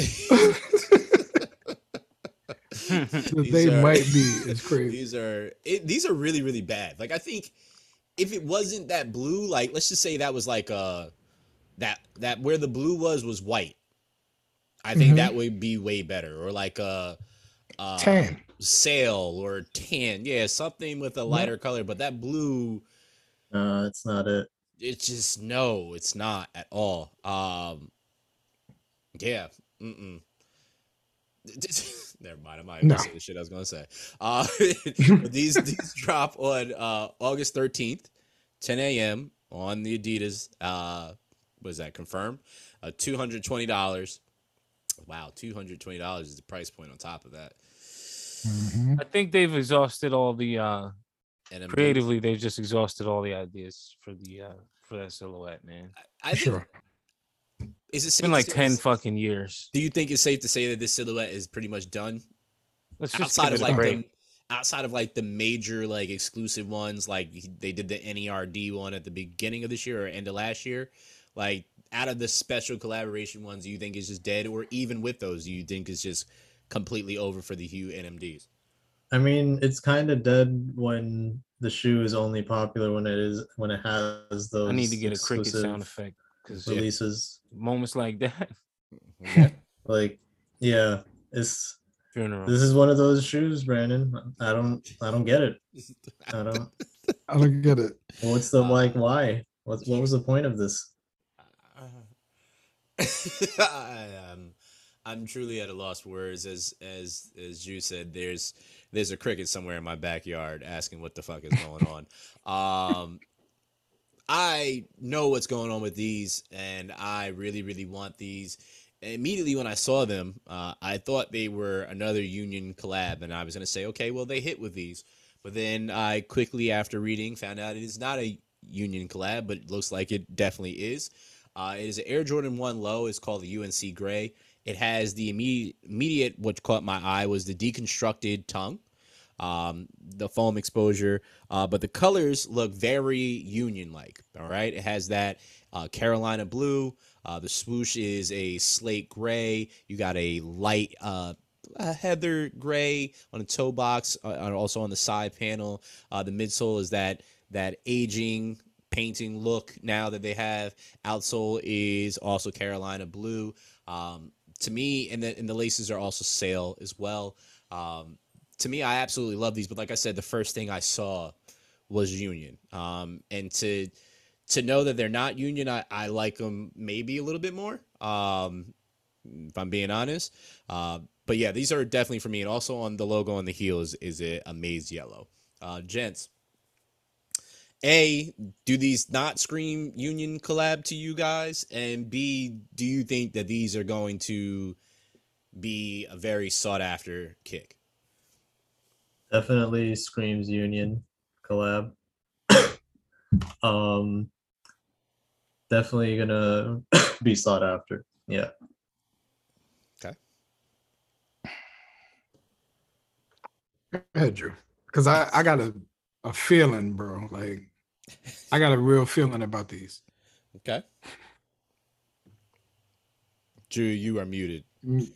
That These they are- might be is crazy. These are it, these are really really bad. Like I think if it wasn't that blue, like let's just say that was like uh that that where the blue was was white. I think Mhm. that would be way better, or like a, a Tan. sail or tan, yeah, something with a lighter color. But that blue, no, it's not it. it's just no, it's not at all. Um, yeah, mm-mm. Never mind. I'm not even No. gonna say the shit I was gonna say. Uh, but these these drop on uh, August thirteenth, ten a.m. on the Adidas. Uh, was that confirmed? Uh, two hundred twenty dollars. Wow, two hundred twenty dollars is the price point on top of that. Mhm. I think they've exhausted all the uh And I'm creatively. They've just exhausted all the ideas for the uh for that silhouette, man. I For think, sure. is it It's safe been to like say ten this- fucking years. Do you think it's safe to say that this silhouette is pretty much done? Let's just Outside give of it a like break. the outside of like the major like exclusive ones, like they did the N E R D one at the beginning of this year or end of last year, like out of the special collaboration ones, do you think it's just dead, or even with those, do you think it's just completely over for the Hue N M Ds? I mean, it's kind of dead when the shoe is only popular when it is when it has those I need to get a cricket exclusive sound effect because Yeah. releases. moments like that, Yeah. Like, yeah, it's funeral. this is one of those shoes, Brandon. I don't I don't get it. I don't. I don't get it. What's the Uh, like? Why? What what was the point of this? I, um, I'm truly at a loss for words. As as as you said, there's there's a cricket somewhere in my backyard asking what the fuck is going on. Um, I know what's going on with these, and I really really want these. Immediately when I saw them, uh, I thought they were another Union collab, and I was gonna say, okay, well they hit with these, but then I quickly after reading found out it is not a Union collab, but it looks like it definitely is. Uh, it is an Air Jordan one low. It's called the U N C Gray. It has the immediate, immediate what caught my eye was the deconstructed tongue, um, the foam exposure, uh, but the colors look very Union-like. All right, it has that uh, Carolina blue. Uh, the swoosh is a slate gray. You got a light uh, uh, heather gray on the toe box, uh, and also on the side panel. Uh, the midsole is that that aging painting look now that they have. Outsole is also Carolina blue. Um, to me, and the and the laces are also sail as well. Um, to me, I absolutely love these. But like I said, the first thing I saw was Union. Um, and to to know that they're not Union, I, I like them maybe a little bit more. Um, if I'm being honest. Uh, but yeah, these are definitely for me. And also on the logo on the heel is, is a, a maize yellow. Uh, gents, A, do these not scream Union collab to you guys? And B, do you think that these are going to be a very sought after kick? Definitely screams Union collab. um, definitely gonna be sought after. Yeah. Okay. Go ahead, Drew. Because I, I got a, a feeling, bro. Like, I got a real feeling about these. Okay. Drew, you are muted. Mm,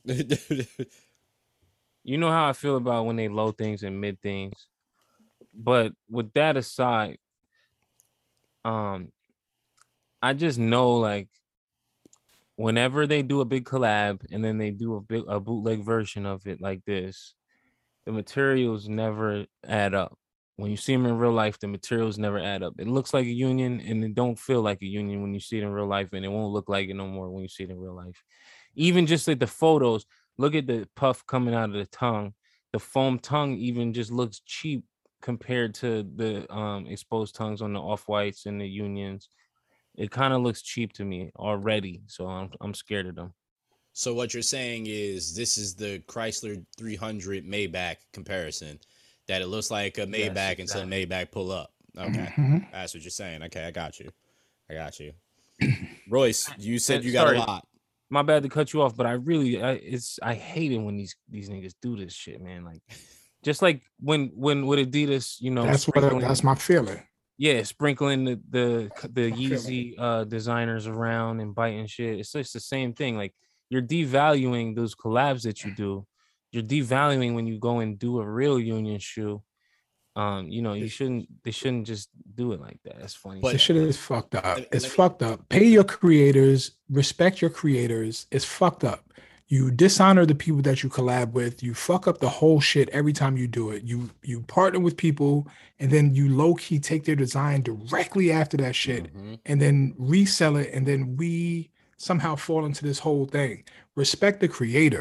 You know how I feel about when they low things and mid things. But with that aside, um, I just know like whenever they do a big collab and then they do a big a bootleg version of it like this, the materials never add up. When you see them in real life, the materials never add up. It looks like a Union and it don't feel like a Union when you see it in real life, and it won't look like it no more when you see it in real life. Even just like the photos, look at the puff coming out of the tongue. The foam tongue even just looks cheap compared to the um, exposed tongues on the off-whites and the Unions. It kind of looks cheap to me already, so I'm I'm scared of them. So what you're saying is this is the Chrysler three hundred Maybach comparison, that it looks like a Yes, Maybach exactly. until Maybach pull up. Okay, mhm. that's what you're saying. Okay, I got you. I got you. Royce, you said And you got sorry. a lot. My bad to cut you off, but I really, I, it's I hate it when these these niggas do this shit, man. Like, just like when when with Adidas, you know, That's what. sprinkling- That's my feeling. yeah, sprinkling the the the I'm feeling Yeezy uh designers around and biting shit. It's just the same thing. Like, you're devaluing those collabs that you do. You're devaluing when you go and do a real Union shoe. Um, you know, you shouldn't. They shouldn't just do it like that. That's funny. But- This shit. shit is fucked up. Let- It's let me- fucked up. Pay your creators, respect your creators. It's fucked up. You dishonor the people that you collab with. You fuck up the whole shit every time you do it. You you partner with people and then you low key take their design directly after that shit Mhm. and then resell it, and then we somehow fall into this whole thing. Respect the creator.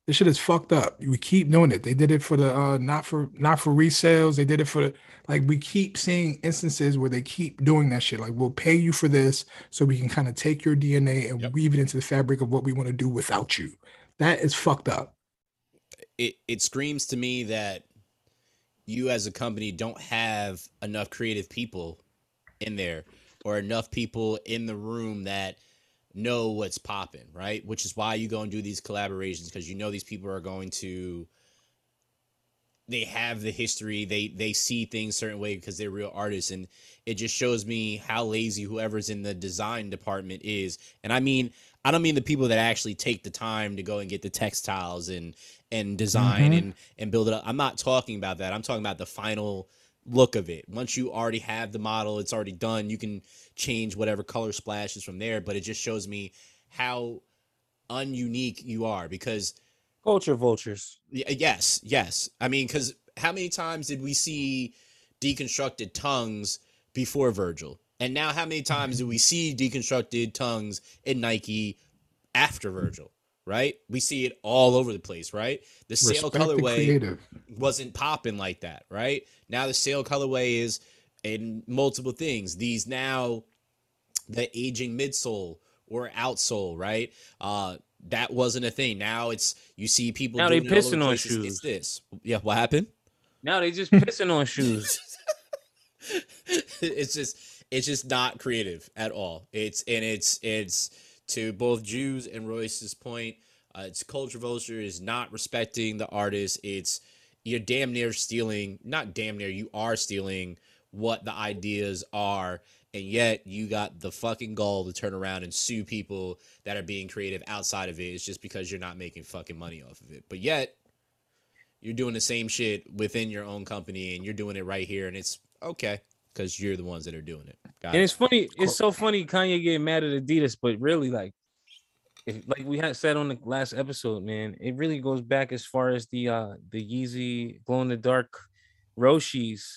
This shit is fucked up. We keep doing it. They did it for the uh not for not for resales. They did it for the like we keep seeing instances where they keep doing that shit. Like we'll pay you for this so we can kind of take your D N A and Yep. weave it into the fabric of what we want to do without you. That is fucked up. It it screams to me that you as a company don't have enough creative people in there or enough people in the room that know what's popping, right? Which is why you go and do these collaborations, because you know these people are going to they have the history, they they see things certain way because they're real artists, and it just shows me how lazy whoever's in the design department is. And I mean, I don't mean the people that actually take the time to go and get the textiles and and design Mhm. and and build it up. I'm not talking about that. I'm talking about the final look of it. Once you already have the model, it's already done. You can change whatever color splashes from there, but it just shows me how ununique you are because Culture vultures. Y- Yes, yes. I mean, because how many times did we see deconstructed tongues before Virgil? And now how many times do we see deconstructed tongues in Nike after Virgil? Right? We see it all over the place, right? The sale Respect the colorway creative. wasn't popping like that, right? Now the sale colorway is in multiple things. These now the aging midsole or outsole, right? Uh, that wasn't a thing. Now it's you see people Now they doing it all over pissing the on place. It's- It's shoes. this. Yeah, what happened? Now they just pissing on shoes. It's just it's just not creative at all. It's and it's it's to both Jews and Royce's point. Uh, it's culture vulture is not respecting the artist. It's you're damn near stealing, not damn near, you are stealing what the ideas are, and yet you got the fucking gall to turn around and sue people that are being creative outside of it. It's just because you're not making fucking money off of it. But yet you're doing the same shit within your own company and you're doing it right here, and it's okay because you're the ones that are doing it. Got And it. it's funny. It's so funny. Kanye getting mad at Adidas, but really, like, if, like we had said on the last episode, man, it really goes back as far as the uh the Yeezy glow in the dark Roshis.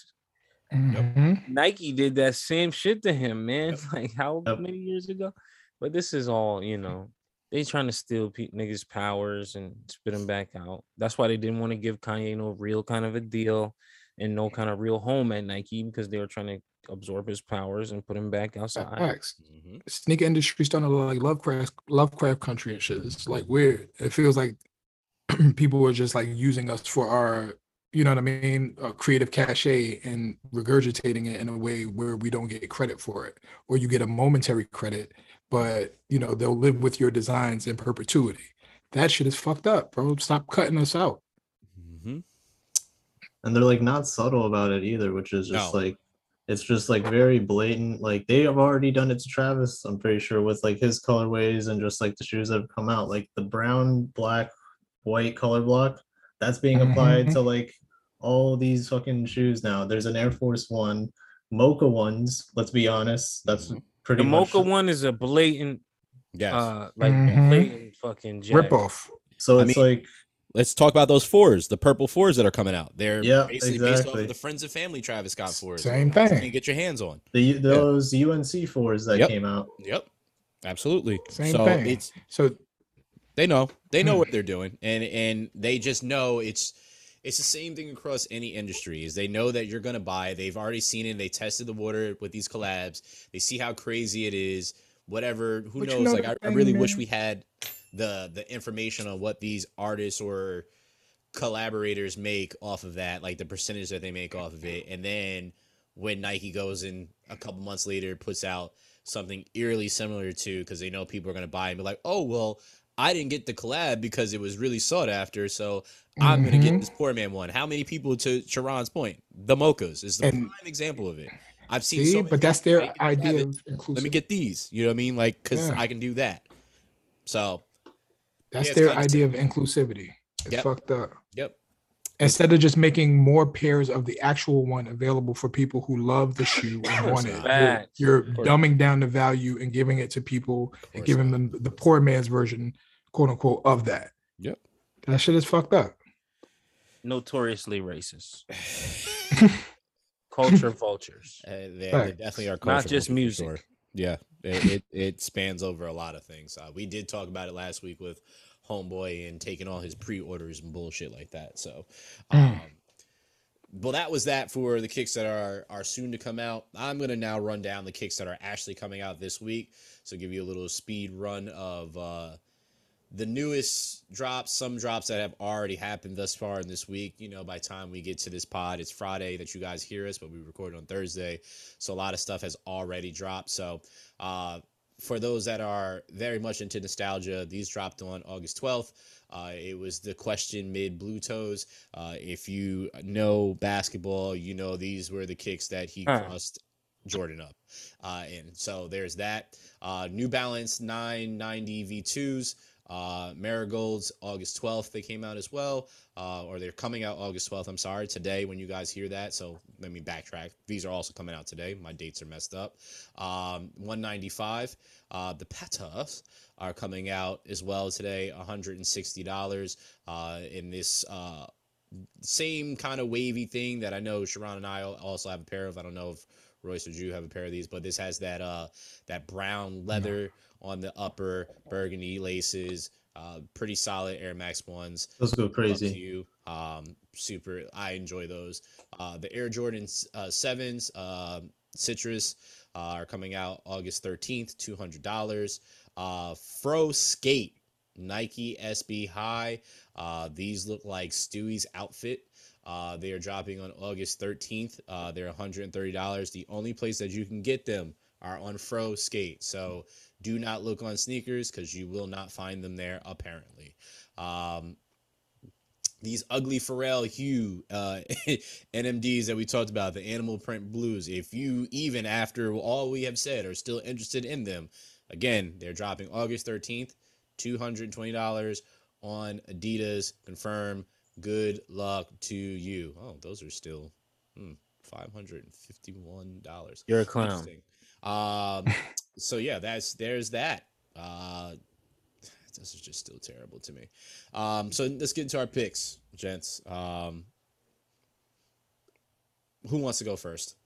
Mhm. Nike did that same shit to him, man. Yep. Like how Yep. many years ago? But this is all, you know, they trying to steal pe- niggas' powers and spit them back out. That's why they didn't want to give Kanye no real kind of a deal and no kind of real home at Nike because they were trying to absorb his powers and put him back outside. Facts. Mhm. Sneaker industry starting to look like Lovecraft Lovecraft country and shit. It's like weird. It feels like people are just like using us for our, you know what I mean, uh, creative cachet and regurgitating it in a way where we don't get credit for it, or you get a momentary credit, but you know they'll live with your designs in perpetuity. That shit is fucked up, bro. Stop cutting us out. Mhm. And they're like not subtle about it either, which is just No. like it's just like very blatant. Like they have already done it to Travis, I'm pretty sure, with like his colorways and just like the shoes that have come out, like the brown, black, white color block that's being applied Mhm. to like all these fucking shoes now. There's an Air Force One, Mocha ones. Let's be honest, that's Mhm. pretty The much. Mocha one is a blatant, Yes. uh, like Mhm. blatant fucking jack. Rip off. So I it's mean, like Let's talk about those fours, the purple fours that are coming out. They're Yeah, basically based off exactly. of the Friends and Family Travis Scott fours. Same So you thing. can get your hands on. the those U N C fours that Yep. came out. Yep. Absolutely. Same so thing. it's So they know they know Hmm. what they're doing, and and they just know it's it's the same thing across any industry. Is they know that you're gonna buy. They've already seen it. They tested the water with these collabs. They see how crazy it is. Whatever. Who But you knows? know Like the I, I thing, really wish man. we had the the information on what these artists or collaborators make off of that, like the percentage that they make off of it, and then when Nike goes and a couple months later puts out something eerily similar to, because they know people are going to buy and be like, oh well, I didn't get the collab because it was really sought after, so I'm going to get Mhm. this poor man one. How many people, to Sharon's point, the Mochas is the And- prime example of it. I've seen see, so many but that's people their make it idea have it. of inclusive. Let me get these, you know what I mean, like because Yeah. I can do that. So That's yeah, it's their kinda idea sick. of inclusivity. It's Yep. fucked up. Yep. Instead of just making more pairs of the actual one available for people who love the shoe and course want it, not. you're, Facts. you're Of course dumbing down the value and giving it to people and course giving not. them the poor man's version, quote unquote, of that. Yep. That shit is fucked up. Notoriously racist. Culture vultures. Uh, they, they Facts. definitely are Not culture just vultures for music. sure. Yeah, it, it it spans over a lot of things. Uh, we did talk about it last week with homeboy and taking all his pre-orders and bullshit like that. So, um, well, that was that for the kicks that are are soon to come out. I'm gonna now run down the kicks that are actually coming out this week. So give you a little speed run of uh, the newest drops, some drops that have already happened thus far in this week. You know, by the time we get to this pod, it's Friday that you guys hear us, but we record on Thursday. So a lot of stuff has already dropped. So uh, for those that are very much into nostalgia, these dropped on August twelfth. Uh, it was the question mid Blue Toes. Uh, if you know basketball, you know these were the kicks that he Huh. crossed Jordan up. Uh, and so there's that. Uh, New Balance nine ninety V twos. Uh, Marigolds, August twelfth, they came out as well, uh, or they're coming out August twelfth. I'm sorry, today when you guys hear that. So let me backtrack. These are also coming out today. My dates are messed up. Um, one ninety-five. Uh, the Patas are coming out as well today, one hundred sixty dollars. Uh, in this uh, same kind of wavy thing that I know Sharon and I also have a pair of. I don't know if Royce or Drew have a pair of these, but this has that uh, that brown leather on the upper, burgundy laces, uh, pretty solid Air Max ones. Those go Love crazy. to you. Um, super, I enjoy those. Uh, the Air Jordan uh, sevens, uh, Citrus, uh, are coming out August thirteenth, two hundred dollars. Uh, Fro Skate, Nike S B High. Uh, these look like Stewie's outfit. Uh, they are dropping on August thirteenth. Uh, they're one hundred thirty dollars. The only place that you can get them are on Fro Skate. So do not look on sneakers because you will not find them there, apparently. Um, these ugly Pharrell Hue uh, N M Ds that we talked about, the animal print blues, if you, even after all we have said, are still interested in them, again, they're dropping August thirteenth, two hundred twenty dollars on Adidas. Confirm. Good luck to you. Oh, those are still hmm, five hundred fifty-one dollars. You're a clown. Interesting. Um, so yeah, that's there's that. Uh, this is just still terrible to me. Um, so let's get into our picks, gents. Um, who wants to go first?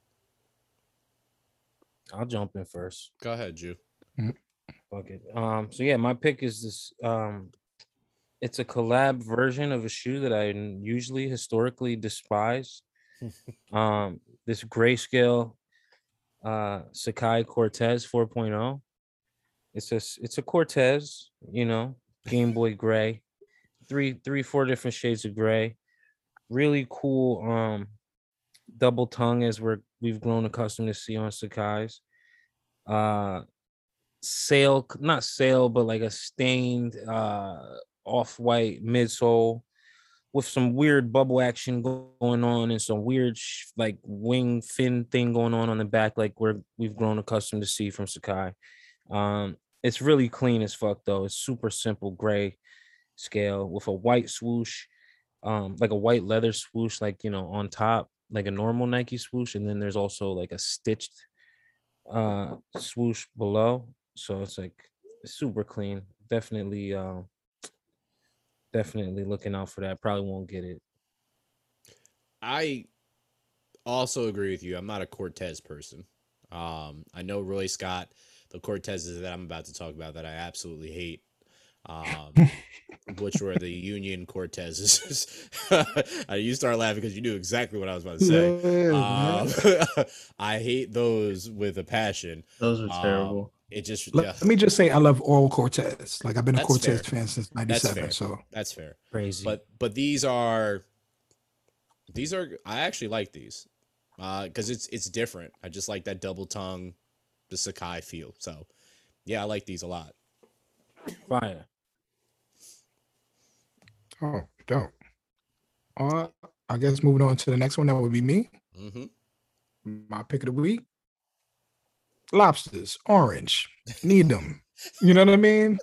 I'll jump in first. Go ahead, Jew. Fuck it. Um, so yeah, my pick is this. Um, it's a collab version of a shoe that I n- usually historically despise. um, this grayscale uh Sakai Cortez 4.0. It's a s- it's a Cortez, you know, Game Boy gray, three three four different shades of gray. Really cool um double tongue as we're we've grown accustomed to see on Sakai's. Uh, sail, not sail, but like a stained uh off-white midsole with some weird bubble action go- going on and some weird sh- like wing fin thing going on on the back, like we're we've grown accustomed to see from Sakai. Um, it's really clean as fuck though. It's super simple gray scale with a white swoosh, um, like a white leather swoosh, like you know, on top, like a normal Nike swoosh, and then there's also like a stitched uh swoosh below. So it's like super clean. Definitely uh definitely looking out for that. Probably won't get it. I also agree with you. I'm not a Cortez person. Um, I know Royce got the Cortezes that I'm about to talk about that I absolutely hate, um, which were the Union Cortezes. Uh, you start laughing because you knew exactly what I was about to say. Yeah, Um, I hate those with a passion. Those are Um, terrible. It just Let, yeah, let me just say, I love all Cortez. Like I've been a That's Cortez fair. fan since That's ninety-seven. fair. So That's fair. Crazy. But but these are these are I actually like these because it's it's different. I just like that double tongue, the Sakai feel. So yeah, I like these a lot. Fire. oh, dope. Uh, I guess moving on to the next one, that would be me. Mm-hmm. My pick of the week: lobsters, orange. Need them. You know what I mean?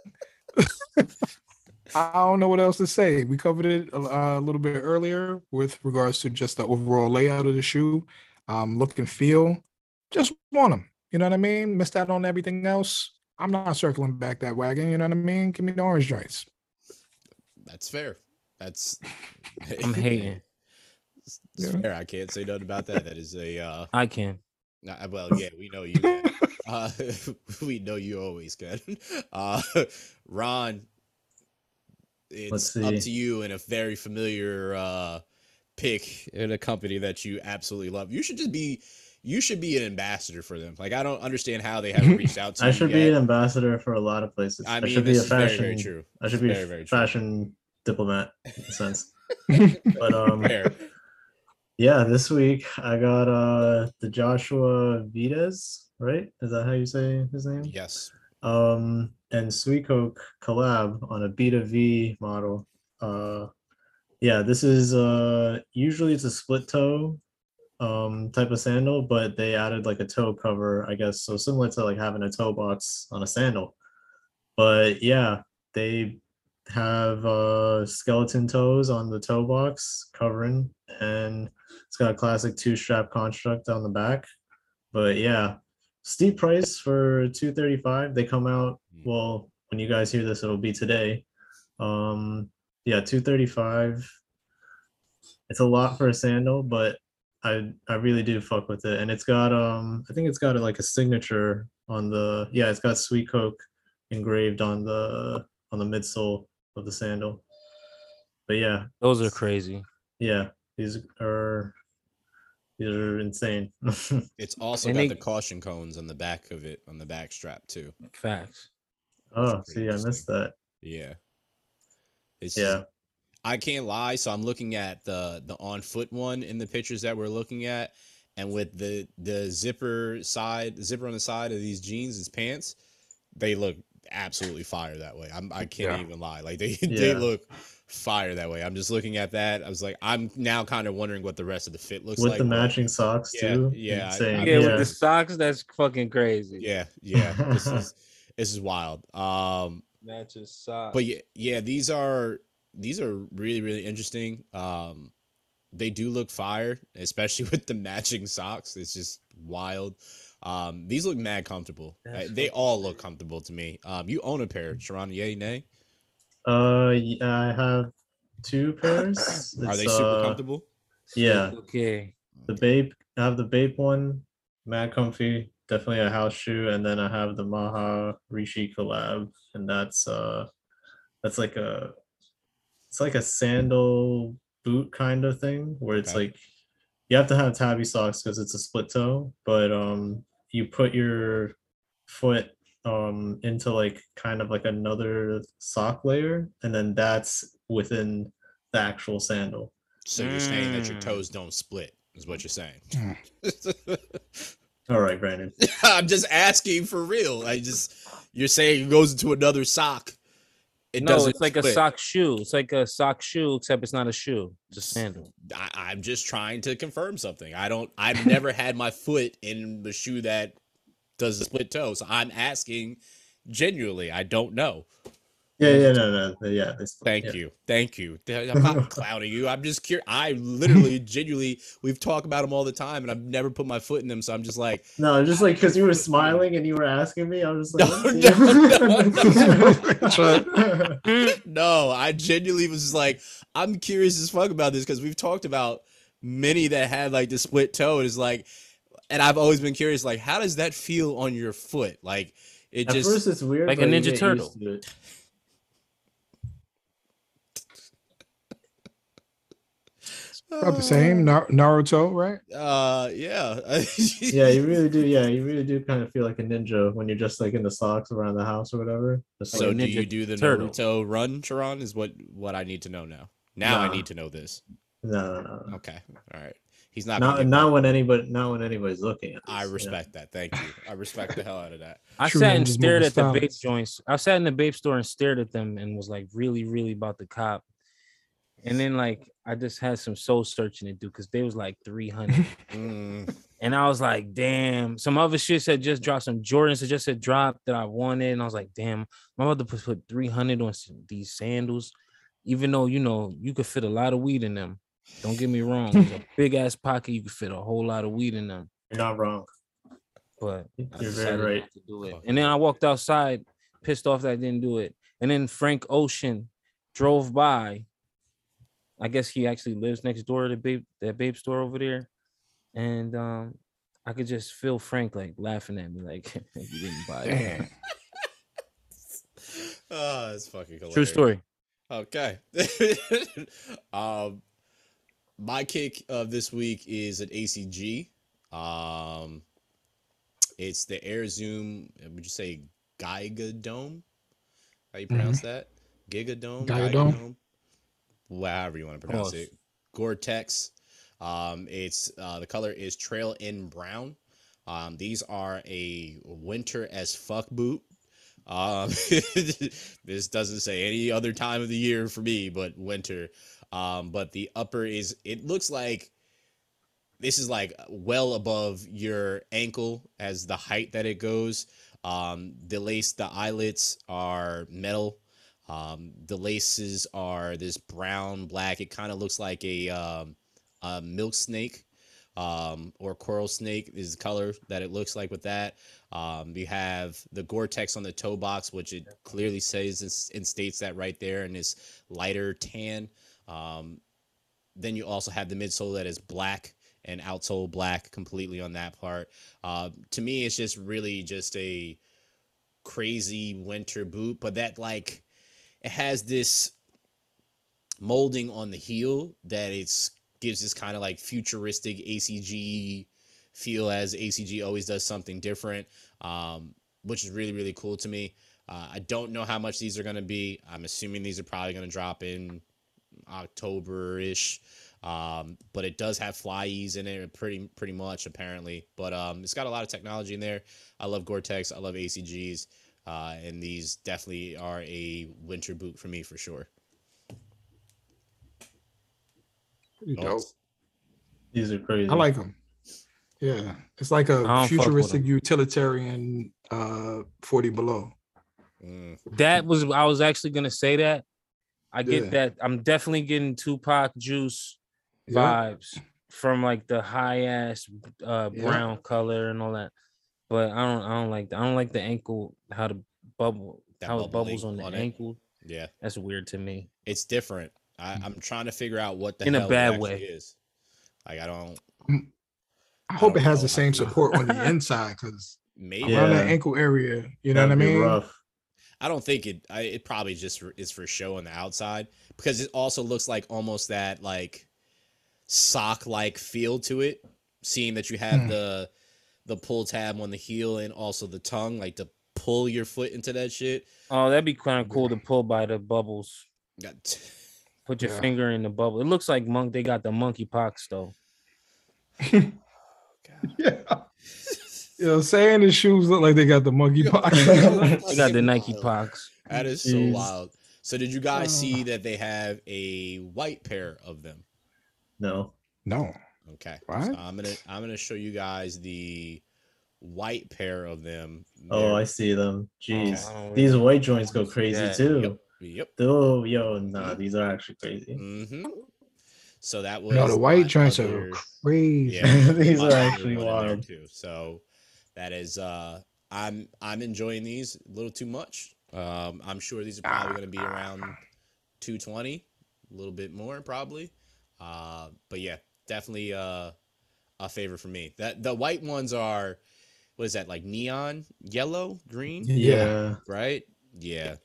I don't know what else to say. We covered it a, a little bit earlier with regards to just the overall layout of the shoe, um, look and feel. Just want them. You know what I mean? Missed out on everything else. I'm not circling back that wagon. You know what I mean? Give me the orange joints. That's fair. That's I'm hating. It's Yeah. fair. I can't say nothing about that. That is a uh, I can. uh, well, yeah, we know you. Can. Uh, we know you always can. Uh, Ron, it's see. up to you and a very familiar uh, pick in a company that you absolutely love. You should just be, you should be an ambassador for them. Like I don't understand how they haven't reached out to I you should yet. be an ambassador for a lot of places. I I, mean, should be this a is very, fashion. very true. I should This be is a very, very true. fashion diplomat in a sense. But um, Fair. yeah, this week I got uh the Joshua Vides, right? Is that how you say his name? Yes. Um, and Sweet Coke collab on a Beta V model. Uh, yeah, this is uh usually it's a split toe um type of sandal, but they added like a toe cover, I guess, so similar to like having a toe box on a sandal. But yeah, they have uh skeleton toes on the toe box covering, and it's got a classic two strap construct on the back. But yeah, steep price for two thirty-five. They come out, well, when you guys hear this, it'll be today. Um, yeah, two thirty-five. It's a lot for a sandal, but I I really do fuck with it. And it's got um I think it's got like a signature on the, yeah, it's got Sweet Coke engraved on the on the midsole of the sandal. But yeah, Those are crazy. yeah, these are these are insane. It's also And got they- the caution cones on the back of it, on the back strap too. Facts. Oh, Pretty see, I interesting. missed that. Yeah. It's Yeah. I can't lie. So I'm looking at the the on foot one in the pictures that we're looking at, and with the the zipper side, zipper on the side of these jeans, his pants, they look absolutely fire that way. I'm I can't Yeah. even lie. Like they they Yeah. look fire that way. I'm just looking at that. I was like, I'm now kind of wondering what the rest of the fit looks With like. the but matching socks Yeah, too. yeah, I- Insane. I- Yeah, yeah. with the socks, that's fucking crazy. Yeah, yeah. This is this is wild. Um, Matches socks. but yeah, yeah, these are these are really really interesting. Um, they do look fire, especially with the matching socks. It's just wild. Um, these look mad comfortable. That's Uh, they fucking all look comfortable to me. Um, you own a pair, Sharon? Yay, nay? Uh, y- I have two pairs. Are It's, they super uh, comfortable? Yeah, Okay. the Bape. I have the Bape one, mad comfy, definitely a house shoe, and then I have the Maha Rishi collab, and that's uh, that's like a, it's like a sandal boot kind of thing where it's Okay. like you have to have tabby socks because it's a split toe, but um, you put your foot um into like kind of like another sock layer, and then that's within the actual sandal. So you're saying that your Mm. toes don't split, is what you're saying? All right, Brandon. I'm just asking for real. I just you're saying it goes into another sock. It no, doesn't it's like a split. sock shoe. It's like a sock shoe, except it's not a shoe. It's a sandal. I, I'm just trying to confirm something. I don't. I've never had my foot in the shoe that does the split toe. So I'm asking genuinely. I don't know. Yeah, yeah, no, no, yeah. This, Thank yeah. you. Thank you. I'm not clowning you. I'm just curious. I literally, genuinely, we've talked about them all the time, and I've never put my foot in them. So I'm just like, No, just like because you were smiling and you were asking me, I was just like, No, let's see. no, no. No, I genuinely was just like, I'm curious as fuck about this because we've talked about many that had like the split toe. And it's like, and I've always been curious, like, how does that feel on your foot? Like, it At just. first, it's weird, Like a but you Ninja get used Turtle. to it. About the same Nar- Naruto, right? Uh, yeah. Yeah, you really do. Yeah, you really do kind of feel like a ninja when you're just like in the socks around the house or whatever. Just So like, do Ninja you do the Turtle. Naruto run, Sharon? Is what what I need to know now. Now I Nah. need to know this. no, no, no. Okay, all right. He's not. gonna Not get not mad. when anybody not when anybody's looking at. I this, yeah. respect that. Thank you. I respect the hell out of that. I True sat and ninjas stared moving at the vape styles. joints. I sat in the vape store and stared at them and was like really, really about the cop. And then like I just had some soul searching to do because they was like three hundred. Mm, And I was like, damn. Some other shit had just dropped. Some Jordans had just had dropped that I wanted. And I was like, damn, I'm about to put, put three hundred on some, these sandals. Even though, you know, you could fit a lot of weed in them. Don't get me wrong. It's a big ass pocket. You could fit a whole lot of weed in them. You're not wrong. But I You're decided very not right. to do it. Fuck And then yeah. I walked outside, pissed off that I didn't do it. And then Frank Ocean drove by. I guess he actually lives next door to babe, that babe store over there. And um, I could just feel Frank like laughing at me, like you didn't buy it. oh, it's fucking hilarious. True story. Okay. um, my kick of this week is an A C G. Um, it's the Air Zoom. Would you say Giga Dome? How you pronounce Mm-hmm. that? Giga Dome, Giga Giga Dome? Dome, however you want to pronounce Close. it. Gore-Tex. Um, it's uh, the color is Trail in Brown. Um, these are a winter as fuck boot. Um, this doesn't say any other time of the year for me, but winter. Um, but the upper is, it looks like this is like well above your ankle as the height that it goes. Um, the lace, the eyelets are metal. Um, the laces are this brown, black. It kind of looks like a, um, a milk snake. Um, or coral snake is the color that it looks like with that. Um, you have the Gore-Tex on the toe box, which it clearly says and, and states that right there in this lighter tan. Um, then you also have the midsole that is black and outsole black completely on that part. Uh, to me, it's just really just a crazy winter boot, but that like it has this molding on the heel that it's gives this kind of like futuristic A C G feel, as A C G always does something different, um, which is really, really cool to me. Uh, I don't know how much these are going to be. I'm assuming these are probably going to drop in October-ish, um, but it does have fly ease in it pretty pretty much, apparently. But um, it's got a lot of technology in there. I love Gore-Tex. I love A C Gs, uh, and these definitely are a winter boot for me for sure. Pretty Oh, dope. These are crazy. I like them. Yeah, it's like I a don't fuck with futuristic 'em. utilitarian uh forty below. mm, That was I was actually gonna say that. I get Yeah. that. I'm definitely getting Tupac Juice Yeah. vibes from like the high ass uh Yeah. brown color and all that. But I don't I don't like that. I don't like the ankle, how the bubble That how it bubbling bubbles on the on it. ankle. yeah, That's weird to me. it's different. I, I'm trying to figure out what the In a hell bad it actually way. is. Like I don't. I hope don't it has know the how same to- support on the inside, because Maybe around Yeah. that ankle area, you know That'd what I be mean? rough. I don't think it. I, it probably just for, is for show on the outside, because it also looks like almost that like sock like feel to it. Seeing that you have Hmm. the the pull tab on the heel and also the tongue, like to pull your foot into that shit. Oh, that'd be kind of cool Yeah. to pull by the bubbles. Got Put your Yeah. finger in the bubble. It looks like monk. They got the monkey pox though. God. Yeah. You know, saying the shoes look like they got the monkey pox. They got the Nike Wild. pox. That is so Jeez. wild. So did you guys Oh. see that they have a white pair of them? No. No. Okay. What? So I'm gonna I'm gonna show you guys the white pair of them. Oh, They're- I see them. Jeez. I don't These really white joints go wanna see crazy that. too. Yep. Yep. Oh, yo, nah, these are actually crazy. Mm-hmm. So that was No, the white my joints other- are crazy. Yeah, These my are other actually one in there wild. too. So that is uh I'm I'm enjoying these a little too much. Um I'm sure these are probably gonna be around two twenty, a little bit more probably. Uh but yeah, definitely uh a favorite for me. That the white ones are, what is that, like neon yellow, green? Yeah. Right? Yeah.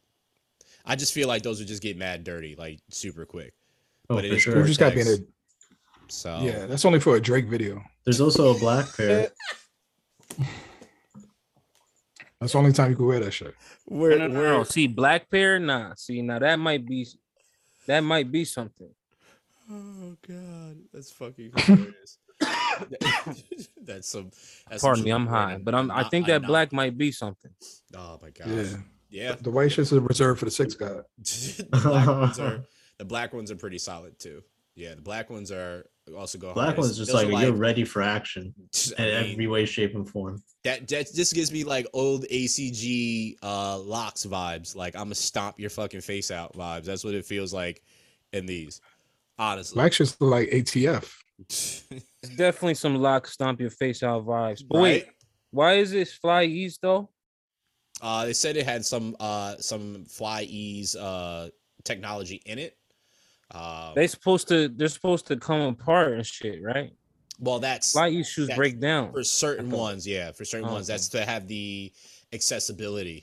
I just feel like those would just get mad dirty, like super quick. Oh, But it for is You sure. just gotta be in Gore-Tex. a So yeah, that's only for a Drake video. There's also a black pair. That's the only time you can wear that shit. we're, No, no, no, we're no. See, black pair, nah. See, now that might be that might be something. Oh god, that's fucking hilarious. That's some. That's Pardon some me, shit I'm we're high, in- but I'm. I not- think I'm that not- black might be something. Oh my gosh. Yeah. Yeah. The white shits are reserved for the six god. the black ones are the black ones are pretty solid too. Yeah, the black ones are also go. Black hard. one's just Those like, are you're ready for action I in mean, every way, shape, and form. that that just gives me like old A C G uh locks vibes. Like I'm gonna stomp your fucking face out vibes. That's what it feels like in these. Honestly. Black shits look like A T F. It's definitely some lock stomp your face out vibes. But wait, Right? why is this fly east though? Uh, they said it had some uh some fly ease uh technology in it. Uh, They supposed to they're supposed to come apart and shit, right? well, that's Fly east shoes that's break down. for certain I thought- ones. Yeah, for certain Oh, ones, okay. that's to have the accessibility.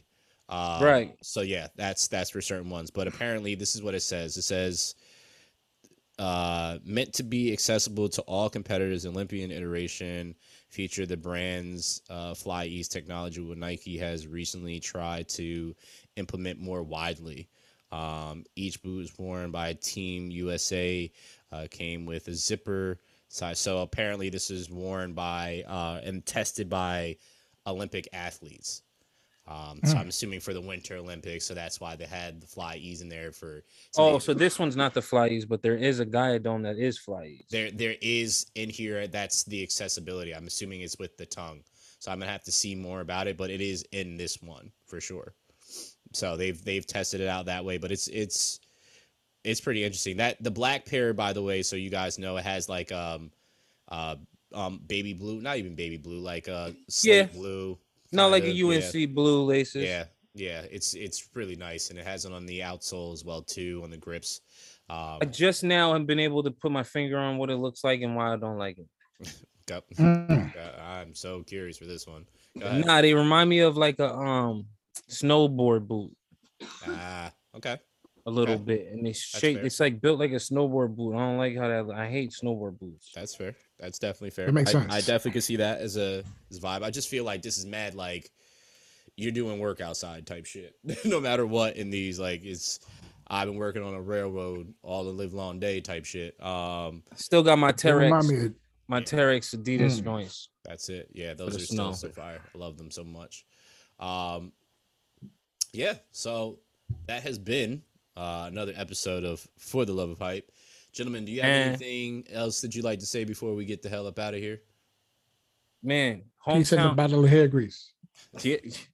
Um, Right. So yeah, that's that's for certain ones. But apparently, this is what it says. It says uh, meant to be accessible to all competitors. Olympian iteration feature the brand's uh, Fly Ease technology, what Nike has recently tried to implement more widely. Um, each boot was worn by Team U S A, uh, came with a zipper size. So apparently, this is worn by uh, and tested by Olympic athletes. Um, so Mm. I'm assuming for the Winter Olympics, so that's why they had the Fly Ease in there for. to Oh, make- so this one's not the Flyees, but there is a Guiadome that is Flyees. there there is in here that's the accessibility. I'm assuming it's with the tongue, so I'm gonna have to see more about it, but it is in this one for sure. So they've they've tested it out that way, but it's it's it's pretty interesting. That the black pair, by the way, so you guys know, it has like um uh um baby blue, not even baby blue, like uh slate Yeah. blue. Not like a kinda, U N yeah. C blue laces. Yeah, yeah, it's it's really nice, and it has it on the outsole as well too, on the grips. Um, I just now have been able to put my finger on what it looks like and why I don't like it. go- Mm. uh, I'm so curious for this one. Go ahead. Nah, they remind me of like a um snowboard boot Ah, okay. a little Okay. bit, and it's shaped. fair. It's like built like a snowboard boot. I don't like how that. I hate snowboard boots. That's fair. That's definitely fair. That makes I, sense. I definitely could see that as a as a vibe. I just feel like this is mad like you're doing work outside type shit. No matter what in these, like it's I've been working on a railroad all the live long day type shit. Um, Still got my They remind Terex, me of my Terex Adidas Mm. joints. that's it. Yeah, those the are still snow. so fire. I love them so much. Um, yeah. So that has been uh, another episode of For the Love of Hype. Gentlemen, do you have Eh. anything else that you'd like to say before we get the hell up out of here? Man, Peace in the hometown. battle of hair grease. Yeah.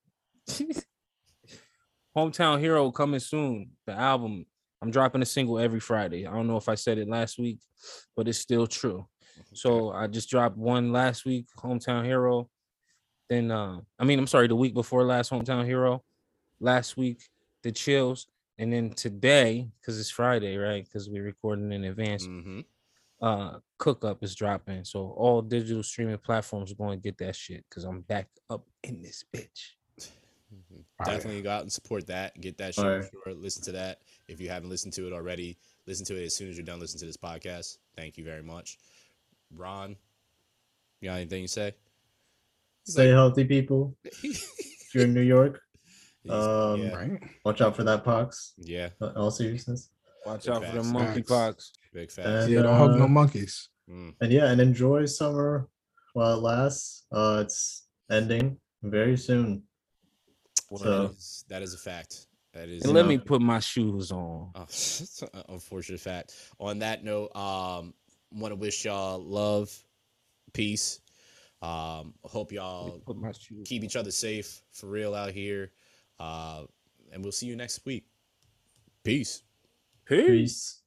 Hometown Hero coming soon. The album. I'm dropping a single every Friday. I don't know if I said it last week, but it's still true. So I just dropped one last week, Hometown Hero. Then uh, I mean, I'm sorry, the week before last, Hometown Hero. Last week, The Chills. And then today, because it's Friday, right? Because we're recording in advance. Mm-hmm. Uh, Cook Up is dropping. So all digital streaming platforms are going to get that shit because I'm back up in this bitch. Fire. Definitely go out and support that. Get that shit. Fire. For sure. Listen to that. If you haven't listened to it already, listen to it as soon as you're done listening to this podcast. Thank you very much. Ron, you got anything to say? Stay healthy, people. If you're in New York, He's- Um, yeah, Right? watch out for that pox. yeah, In all seriousness. Watch Big out for the facts. monkeypox. big facts. And, Yeah, don't hug no uh, monkeys. Mm. And yeah, and enjoy summer while it lasts. Uh, it's ending very soon. That So is- that is a fact. That is And let know. me put my shoes on. Oh, it's an unfortunate fact. On that note, um, want to wish y'all love, peace. Um, hope y'all Put my shoes. keep each other safe for real out here. Uh, and we'll see you next week. Peace. Peace. peace.